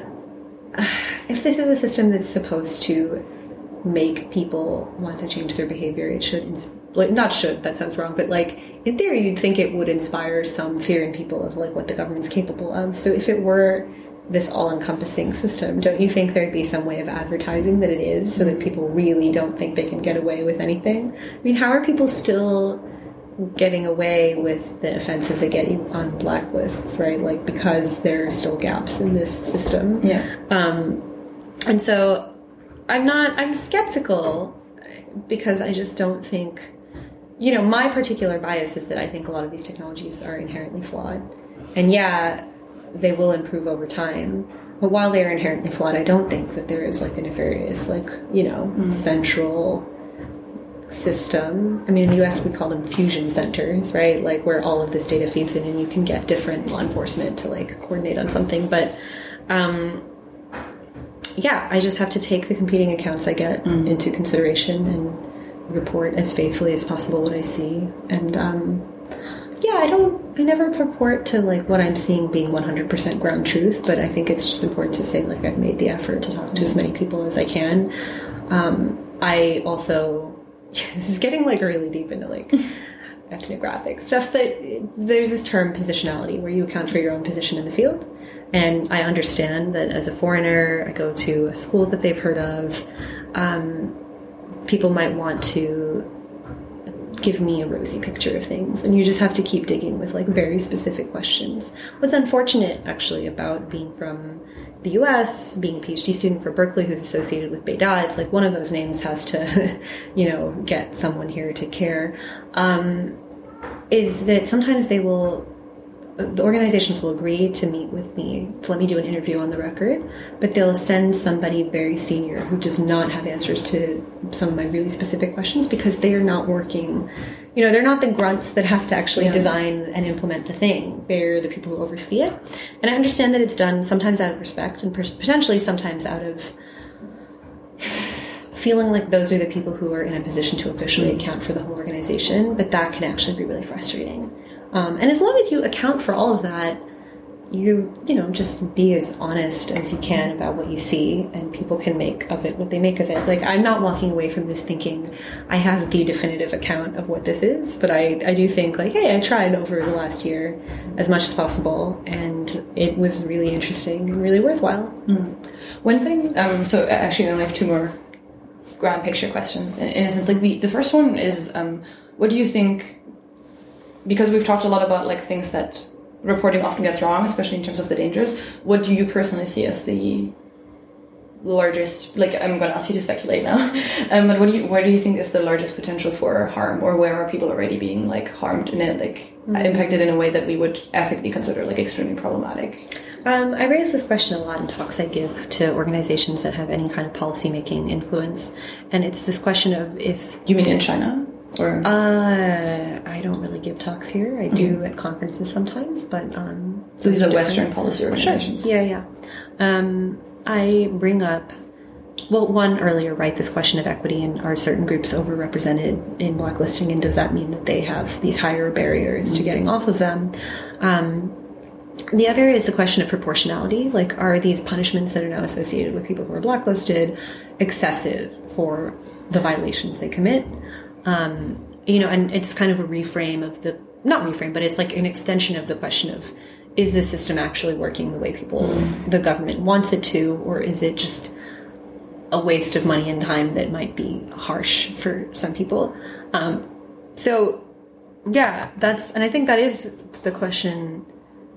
if this is a system that's supposed to make people want to change their behavior, it should, ins- like, not should, that sounds wrong, but, like, in theory, you'd think it would inspire some fear in people of, like, what the government's capable of. So if it were this all-encompassing system, don't you think there'd be some way of advertising that it is, so that people really don't think they can get away with anything? I mean, how are people still getting away with the offenses they get on blacklists, right? Like, because there are still gaps in this system. Yeah. Um, and so I'm not, I'm skeptical because I just don't think, you know, my particular bias is that I think a lot of these technologies are inherently flawed. And yeah, they will improve over time. But while they are inherently flawed, I don't think that there is, like, a nefarious, like, you know, mm. central system. I mean, in the U S we call them fusion centers, right? Like, where all of this data feeds in and you can get different law enforcement to, like, coordinate on something. But, um, yeah, I just have to take the competing accounts I get mm. into consideration and report as faithfully as possible what I see. And, um, yeah, I don't, I never purport to, like, what I'm seeing being one hundred percent ground truth, but I think it's just important to say, like, I've made the effort to talk to mm. as many people as I can. Um, I also, this is getting, like, really deep into, like, ethnographic stuff, but there's this term positionality where you account for your own position in the field. And I understand that as a foreigner, I go to a school that they've heard of, um, people might want to give me a rosy picture of things, and you just have to keep digging with like very specific questions. What's unfortunate actually about being from the U S, being a PhD student for Berkeley who's associated with Beida, it's like one of those names has to, you know, get someone here to care, um, is that sometimes they will, the organizations will agree to meet with me, to let me do an interview on the record, but they'll send somebody very senior who does not have answers to some of my really specific questions because they are not working, you know, they're not the grunts that have to actually yeah. design and implement the thing. They're the people who oversee it. And I understand that it's done sometimes out of respect and potentially sometimes out of feeling like those are the people who are in a position to officially account for the whole organization, but that can actually be really frustrating. Um, and as long as you account for all of that, you, you know, just be as honest as you can about what you see, and people can make of it what they make of it. Like, I'm not walking away from this thinking I have the definitive account of what this is, but I, I do think, like, hey, I tried over the last year as much as possible, and it was really interesting and really worthwhile. Mm. One thing, um, so actually I only have two more grand picture questions. In, in a sense, like, we, the first one is, um, what do you think, because we've talked a lot about, like, things that reporting often gets wrong, especially in terms of the dangers. What do you personally see as the largest, like, I'm going to ask you to speculate now, um, but what do you, where do you think is the largest potential for harm, or where are people already being, like, harmed in it, like, mm-hmm. impacted in a way that we would ethically consider, like, extremely problematic? Um, I raise this question a lot in talks I give to organizations that have any kind of policy-making influence, and it's this question of if... You mean in China? Or? Uh, I don't really give talks here. I do mm-hmm. at conferences sometimes, but... Um, so these are Western policy organizations? Sure. Yeah, yeah. Um, I bring up... Well, one, earlier, right, this question of equity, and are certain groups overrepresented in blacklisting, and does that mean that they have these higher barriers mm-hmm. to getting off of them? Um, the other is the question of proportionality. Like, are these punishments that are now associated with people who are blacklisted excessive for the violations they commit? Um, you know, and it's kind of a reframe of the, not reframe, but it's like an extension of the question of, is the system actually working the way people, mm. the government wants it to, or is it just a waste of money and time that might be harsh for some people? Um, so, yeah, that's, and I think that is the question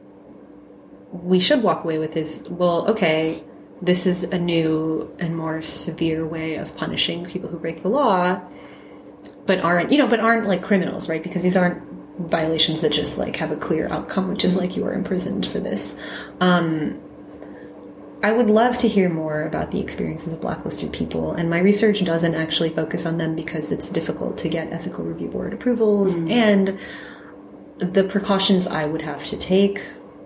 we should walk away with is, well, okay, this is a new and more severe way of punishing people who break the law, but aren't, you know, but aren't like criminals, right? Because these aren't violations that just like have a clear outcome, which is like you are imprisoned for this. Um, I would love to hear more about the experiences of blacklisted people, and my research doesn't actually focus on them because it's difficult to get ethical review board approvals, mm. and the precautions I would have to take,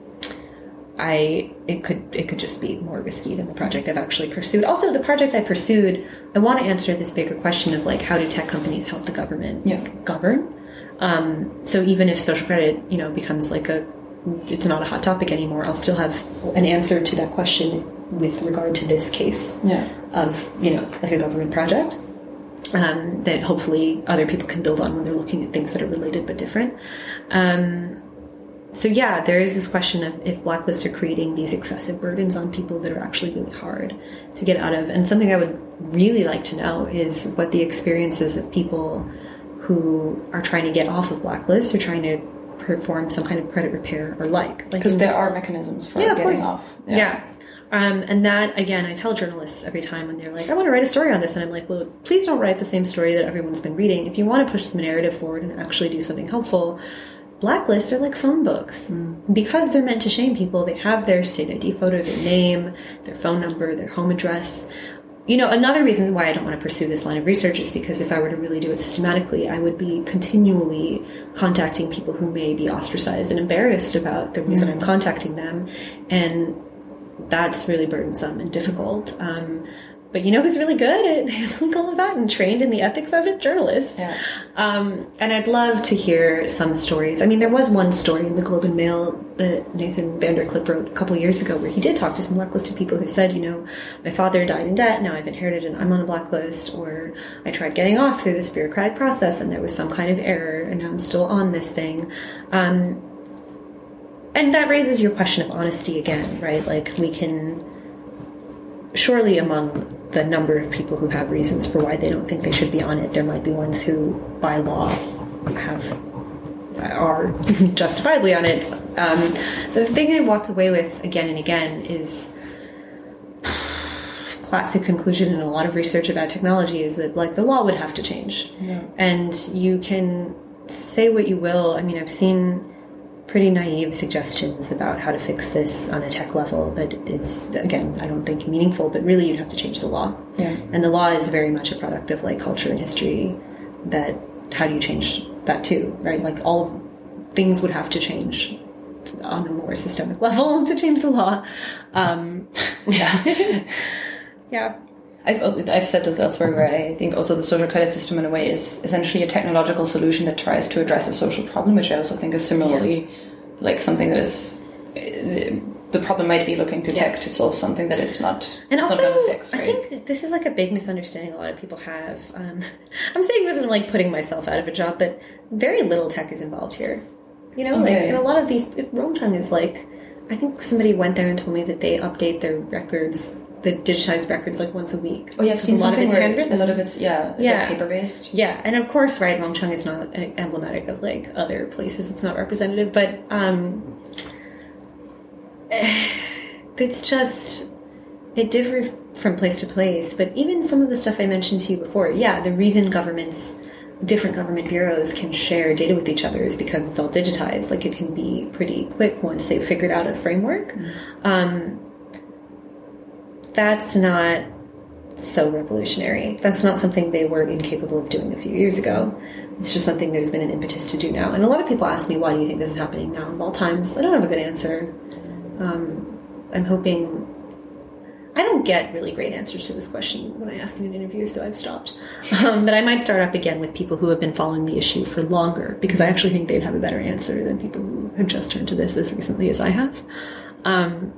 I it could it could just be more risky than the project I've actually pursued. Also, the project I pursued, I want to answer this bigger question of like, how do tech companies help the government yeah. govern? Um, so even if social credit, you know, becomes like a, it's not a hot topic anymore, I'll still have an answer to that question with regard to this case yeah. of, you know, like a government project um, that hopefully other people can build on when they're looking at things that are related but different. Um, So yeah, there is this question of if blacklists are creating these excessive burdens on people that are actually really hard to get out of. And something I would really like to know is what the experiences of people who are trying to get off of blacklists or trying to perform some kind of credit repair are like. Because like there are mechanisms for yeah, getting of off. Yeah. yeah. Um, and that, again, I tell journalists every time when they're like, I want to write a story on this. And I'm like, well, please don't write the same story that everyone's been reading. If you want to push the narrative forward and actually do something helpful, blacklists are like phone books. Mm. Because they're meant to shame people, they have their state I D photo, their name, their phone number, their home address. You know, another reason why I don't want to pursue this line of research is because if I were to really do it systematically, I would be continually contacting people who may be ostracized and embarrassed about the reason mm. I'm contacting them. And that's really burdensome and difficult. Um, But you know who's really good at handling all of that and trained in the ethics of it? Journalists. Yeah. Um, and I'd love to hear some stories. I mean, there was one story in the Globe and Mail that Nathan Vanderclip wrote a couple years ago where he did talk to some blacklisted people who said, you know, my father died in debt, now I've inherited and I'm on a blacklist, or I tried getting off through this bureaucratic process and there was some kind of error and now I'm still on this thing. Um, and that raises your question of honesty again, right? Like, we can... Surely among the number of people who have reasons for why they don't think they should be on it, there might be ones who, by law, have are justifiably on it. Um, the thing I walk away with again and again is classic conclusion in a lot of research about technology is that like the law would have to change. Yeah. And you can say what you will. I mean, I've seen pretty naive suggestions about how to fix this on a tech level, but it's, again, I don't think meaningful, but really you'd have to change the law. Yeah. And the law is very much a product of like culture and history that how do you change that too, right? Like all things would have to change on a more systemic level to change the law. Um, Yeah. yeah. I've also, I've said this elsewhere where I think also the social credit system in a way is essentially a technological solution that tries to address a social problem, which I also think is similarly yeah. like something that is the problem might be looking to tech yeah. to solve something that it's not. And it's also, not gonna fix, right? I think this is like a big misunderstanding a lot of people have. Um, I'm saying this and like putting myself out of a job, but very little tech is involved here. You know, okay. like in a lot of these, Rongcheng is like, I think somebody went there and told me that they update their records, the digitized records, like once a week. Oh yeah, I've seen a lot something of it's where handwritten. a lot of it's yeah, it's yeah. like paper based. Yeah, and of course, right, Rongcheng is not emblematic of like other places. It's not representative, but um, it's just it differs from place to place. But even some of the stuff I mentioned to you before, yeah, the reason governments. Different government bureaus can share data with each other is because it's all digitized. Like it can be pretty quick once they've figured out a framework. Mm-hmm. Um, that's not so revolutionary. That's not something they were incapable of doing a few years ago. It's just something there's been an impetus to do now. And a lot of people ask me, why do you think this is happening now of all times? I don't have a good answer. Um, I'm hoping... I don't get really great answers to this question when I ask in an interview, so I've stopped. Um, but I might start up again with people who have been following the issue for longer, because I actually think they'd have a better answer than people who have just turned to this as recently as I have. Um,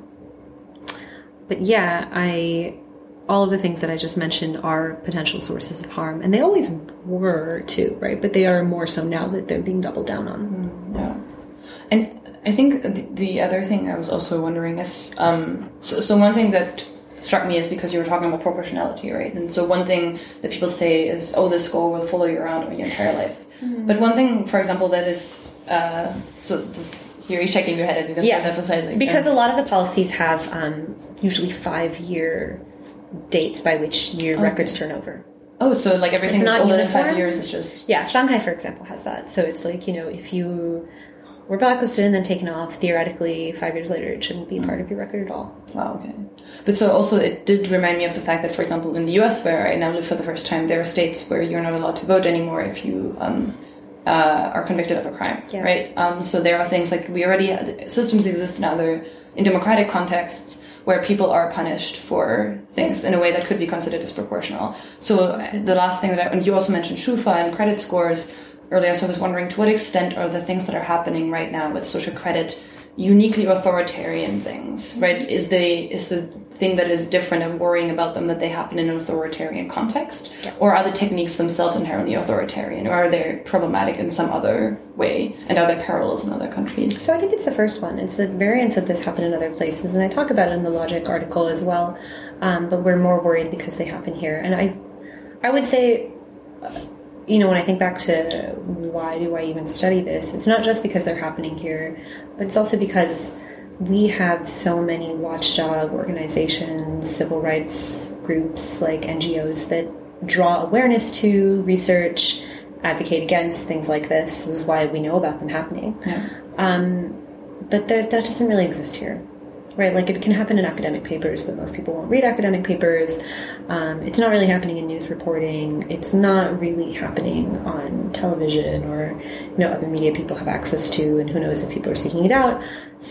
but yeah, I all of the things that I just mentioned are potential sources of harm, and they always were too, right? But they are more so now that they're being doubled down on. Yeah. And I think the, the other thing I was also wondering is, um, so, so one thing that struck me is because you were talking about proportionality, right? And so one thing that people say is, oh, this score will follow you around your entire life. Mm-hmm. But one thing, for example, that is, uh, so this, you're shaking your head at me, that's yeah, what I'm emphasizing. Because um, a lot of the policies have um, usually five-year dates by which your okay. records turn over. Oh, so like everything it's that's not older uniform. than five years is just... Yeah, Shanghai, for example, has that. So it's like, you know, if you were blacklisted and then taken off, theoretically, five years later, it shouldn't be mm. part of your record at all. Wow, okay. But so also it did remind me of the fact that, for example, in the U S, where I now live for the first time, there are states where you're not allowed to vote anymore if you um, uh, are convicted of a crime, yeah. right? Um, so there are things like we already... Systems exist in other... in democratic contexts where people are punished for things in a way that could be considered disproportional. So the last thing that I... And you also mentioned Schufa and credit scores earlier, so I was wondering to what extent are the things that are happening right now with social credit uniquely authoritarian things, right? Is the is the thing that is different and worrying about them that they happen in an authoritarian context? Yeah. Or are the techniques themselves inherently authoritarian? Or are they problematic in some other way? And are there parallels in other countries? So I think it's the first one. It's the variants of this happen in other places. And I talk about it in the Logic article as well. Um, but we're more worried because they happen here. And I, I would say... Uh, you know, when I think back to why do I even study this, it's not just because they're happening here, but it's also because we have so many watchdog organizations, civil rights groups, like N G Os that draw awareness to, research, advocate against things like this. This is why we know about them happening. Yeah. Um, but that, that doesn't really exist here. Right, like it can happen in academic papers, but most people won't read academic papers. Um, it's not really happening in news reporting. It's not really happening on television or, you know, other media people have access to, and who knows if people are seeking it out.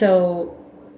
So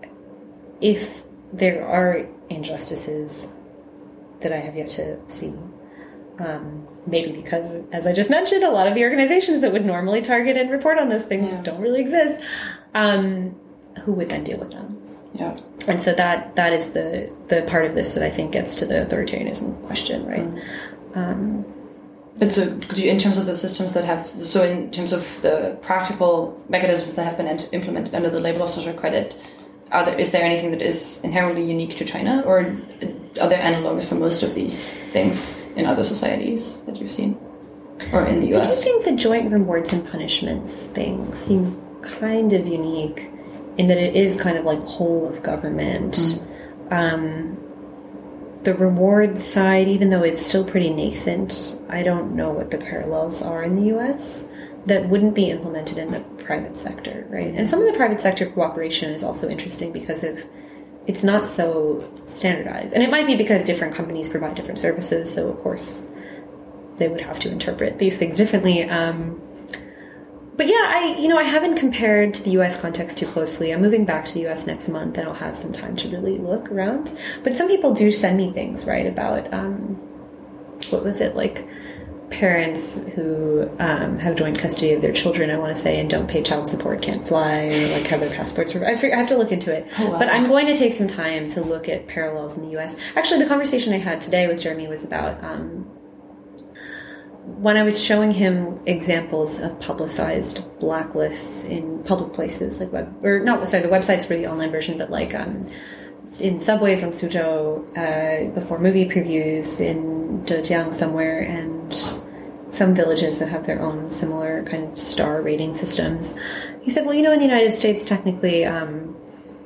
if there are injustices that I have yet to see, um, maybe because, as I just mentioned, a lot of the organizations that would normally target and report on those things yeah. don't really exist, um, who would then deal with them? Yeah. And so that that is the, the part of this that I think gets to the authoritarianism question, right? Mm. Um, but so could you, in terms of the systems that have, so in terms of the practical mechanisms that have been implemented under the label of social credit, are there, is there anything that is inherently unique to China, or are there analogs for most of these things in other societies that you've seen? or in the U S? I do think the joint rewards and punishments thing seems kind of unique in that it is kind of like whole of government. Mm. Um, the reward side, even though it's still pretty nascent, I don't know what the parallels are in the U S that wouldn't be implemented in the private sector, right? And some of the private sector cooperation is also interesting because of it's not so standardized. And it might be because different companies provide different services, so of course they would have to interpret these things differently. Um, but yeah, I you know, I haven't compared to the U S context too closely. I'm moving back to the U S next month, and I'll have some time to really look around. But some people do send me things, right, about, um, what was it, like parents who um, have joint custody of their children, I want to say, and don't pay child support, can't fly, or like have their passports. I, I have to look into it. Oh, wow. But I'm going to take some time to look at parallels in the U S. Actually, the conversation I had today with Jeremy was about um, when I was showing him examples of publicized blacklists in public places, like web, or not, sorry, the websites for the online version, but like um, in subways on Suzhou, uh, before movie previews in Zhejiang somewhere, and some villages that have their own similar kind of star rating systems. He said, well, you know, in the United States, technically, um,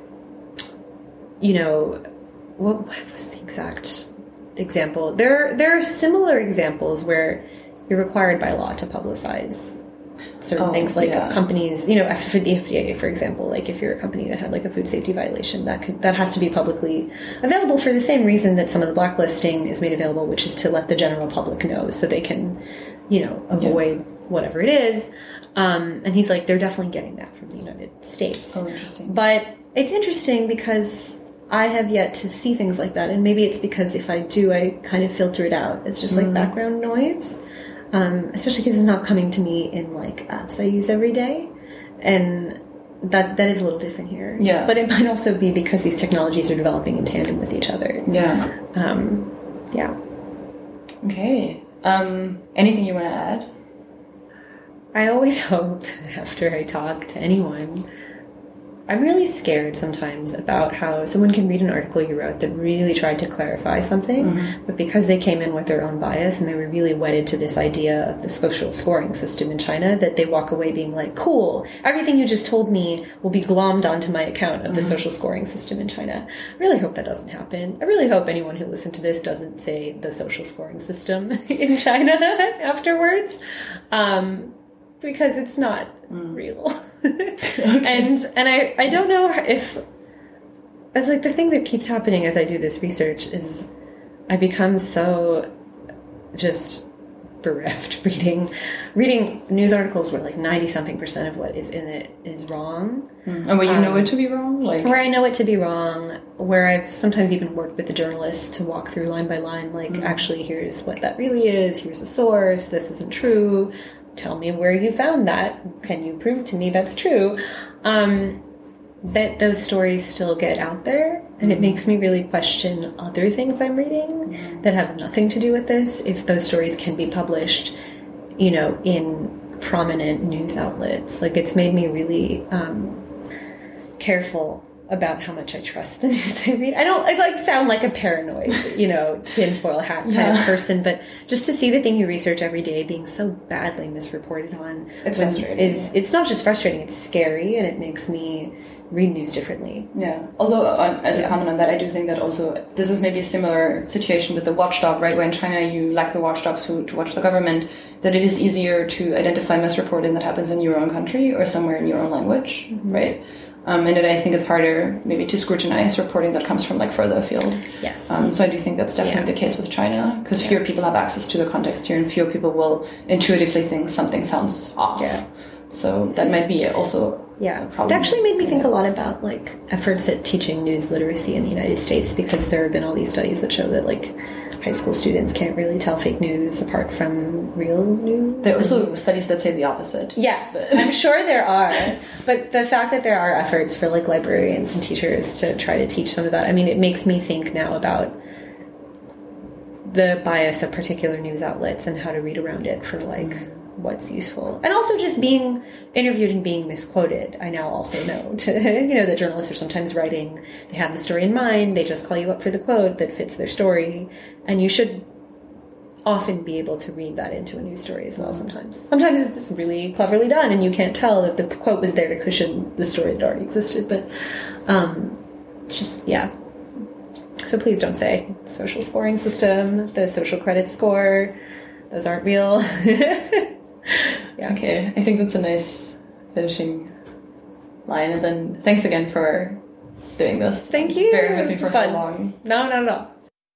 you know, what, what was the exact example? There, there are similar examples where you're required by law to publicize certain oh, things, like yeah. companies, you know, for the F D A, for example, like if you're a company that had like a food safety violation, that could, that has to be publicly available for the same reason that some of the blacklisting is made available, which is to let the general public know so they can, you know, avoid yeah. whatever it is. Um, and he's like, they're definitely getting that from the United States. Oh, interesting. But it's interesting because I have yet to see things like that. And maybe it's because if I do, I kind of filter it out. It's just like mm-hmm. background noise. Um, especially because it's not coming to me in like apps I use every day, and that that is a little different here. Yeah, but it might also be because these technologies are developing in tandem with each other. Yeah, um, yeah. Okay. Um, anything you want to add? I always hope after I talk to anyone, I'm really scared sometimes about how someone can read an article you wrote that really tried to clarify something, mm-hmm. but because they came in with their own bias and they were really wedded to this idea of the social scoring system in China, that they walk away being like, cool, everything you just told me will be glommed onto my account of the mm-hmm. social scoring system in China. I really hope that doesn't happen. I really hope anyone who listened to this doesn't say the social scoring system in China afterwards. Um, because it's not mm. real. Okay. And and I, I don't know if, if, like, the thing that keeps happening as I do this research is I become so just bereft reading reading news articles where, like, ninety-something percent of what is in it is wrong. Mm. And where you um, know it to be wrong? Like Where I know it to be wrong, where I've sometimes even worked with the journalists to walk through line by line, like, mm. actually, here's what that really is, here's the source, this isn't true, tell me where you found that. Can you prove to me that's true? Um, that those stories still get out there, and it makes me really question other things I'm reading that have nothing to do with this, if those stories can be published, you know, in prominent news outlets. Like, it's made me really um, careful about how much I trust the news I read. I don't, I like sound like a paranoid, you know, tinfoil hat kind yeah. of person, but just to see the thing you research every day being so badly misreported on, it's frustrating. Is, it's not just frustrating, it's scary, and it makes me read news differently. Yeah. Although, on, as yeah. a comment on that, I do think that also, this is maybe a similar situation with the watchdog, right? Where in China you lack the watchdogs who, to watch the government, that it is easier to identify misreporting that happens in your own country or somewhere in your own language, mm-hmm. right? Um, and it, I think it's harder maybe to scrutinize reporting that comes from like further afield. Yes. Um, so I do think that's definitely yeah. the case with China, because yeah. fewer people have access to the context here, and fewer people will intuitively think something sounds off. Yeah. So that might be also yeah. a problem. It actually made me think a lot about like efforts at teaching news literacy in the United States, because there have been all these studies that show that like high school students can't really tell fake news apart from real news. There are also studies that say the opposite. Yeah, but I'm sure there are. But the fact that there are efforts for like librarians and teachers to try to teach some of that, I mean, it makes me think now about the bias of particular news outlets and how to read around it for like what's useful. And also just being interviewed and being misquoted. I now also know to, you know, that journalists are sometimes writing, they have the story in mind, they just call you up for the quote that fits their story. And you should often be able to read that into a news story as well sometimes. Sometimes it's really cleverly done and you can't tell that the quote was there to cushion the story that already existed. But um, just, yeah. So please don't say social scoring system, the social credit score, those aren't real. Yeah. Okay, I think that's a nice finishing line. And then thanks again for doing this. Thank you. Bearing with me for fun. so long. No, no, no.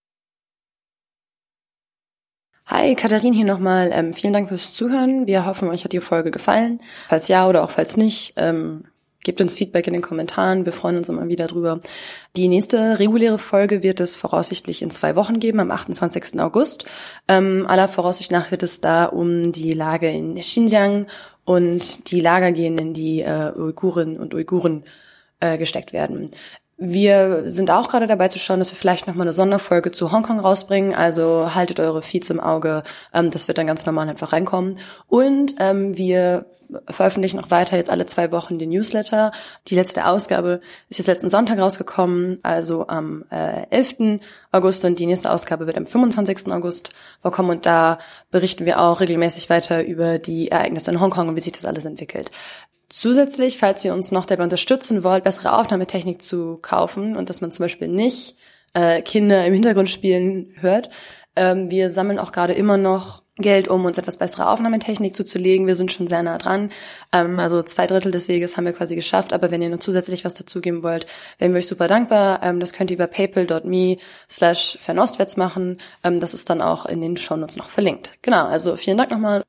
Hi, Katharin hier nochmal. Ähm, vielen Dank fürs Zuhören. Wir hoffen, euch hat die Folge gefallen. Falls ja oder auch falls nicht, ähm, gebt uns Feedback in den Kommentaren. Wir freuen uns immer wieder drüber. Die nächste reguläre Folge wird es voraussichtlich in zwei Wochen geben, am achtundzwanzigsten August. Ähm, aller Voraussicht nach wird es da um die Lage in Xinjiang und die Lager gehen, in die äh, Uigurinnen und Uiguren äh, gesteckt werden. Wir sind auch gerade dabei zu schauen, dass wir vielleicht nochmal eine Sonderfolge zu Hongkong rausbringen. Also haltet eure Feeds im Auge. Ähm, das wird dann ganz normal einfach reinkommen. Und ähm, wir veröffentlichen auch weiter jetzt alle zwei Wochen den Newsletter. Die letzte Ausgabe ist jetzt letzten Sonntag rausgekommen, also am äh, elften August. Und die nächste Ausgabe wird am fünfundzwanzigsten August vorkommen. Und da berichten wir auch regelmäßig weiter über die Ereignisse in Hongkong und wie sich das alles entwickelt. Zusätzlich, falls ihr uns noch dabei unterstützen wollt, bessere Aufnahmetechnik zu kaufen und dass man zum Beispiel nicht äh, Kinder im Hintergrund spielen hört, ähm, wir sammeln auch gerade immer noch Geld, um uns etwas bessere Aufnahmetechnik zuzulegen. Wir sind schon sehr nah dran. Ähm, also zwei Drittel des Weges haben wir quasi geschafft. Aber wenn ihr noch zusätzlich was dazugeben wollt, wären wir euch super dankbar. Ähm, das könnt ihr über paypal.me slash fernostwärts machen. Ähm, das ist dann auch in den Shownotes noch verlinkt. Genau, also vielen Dank nochmal.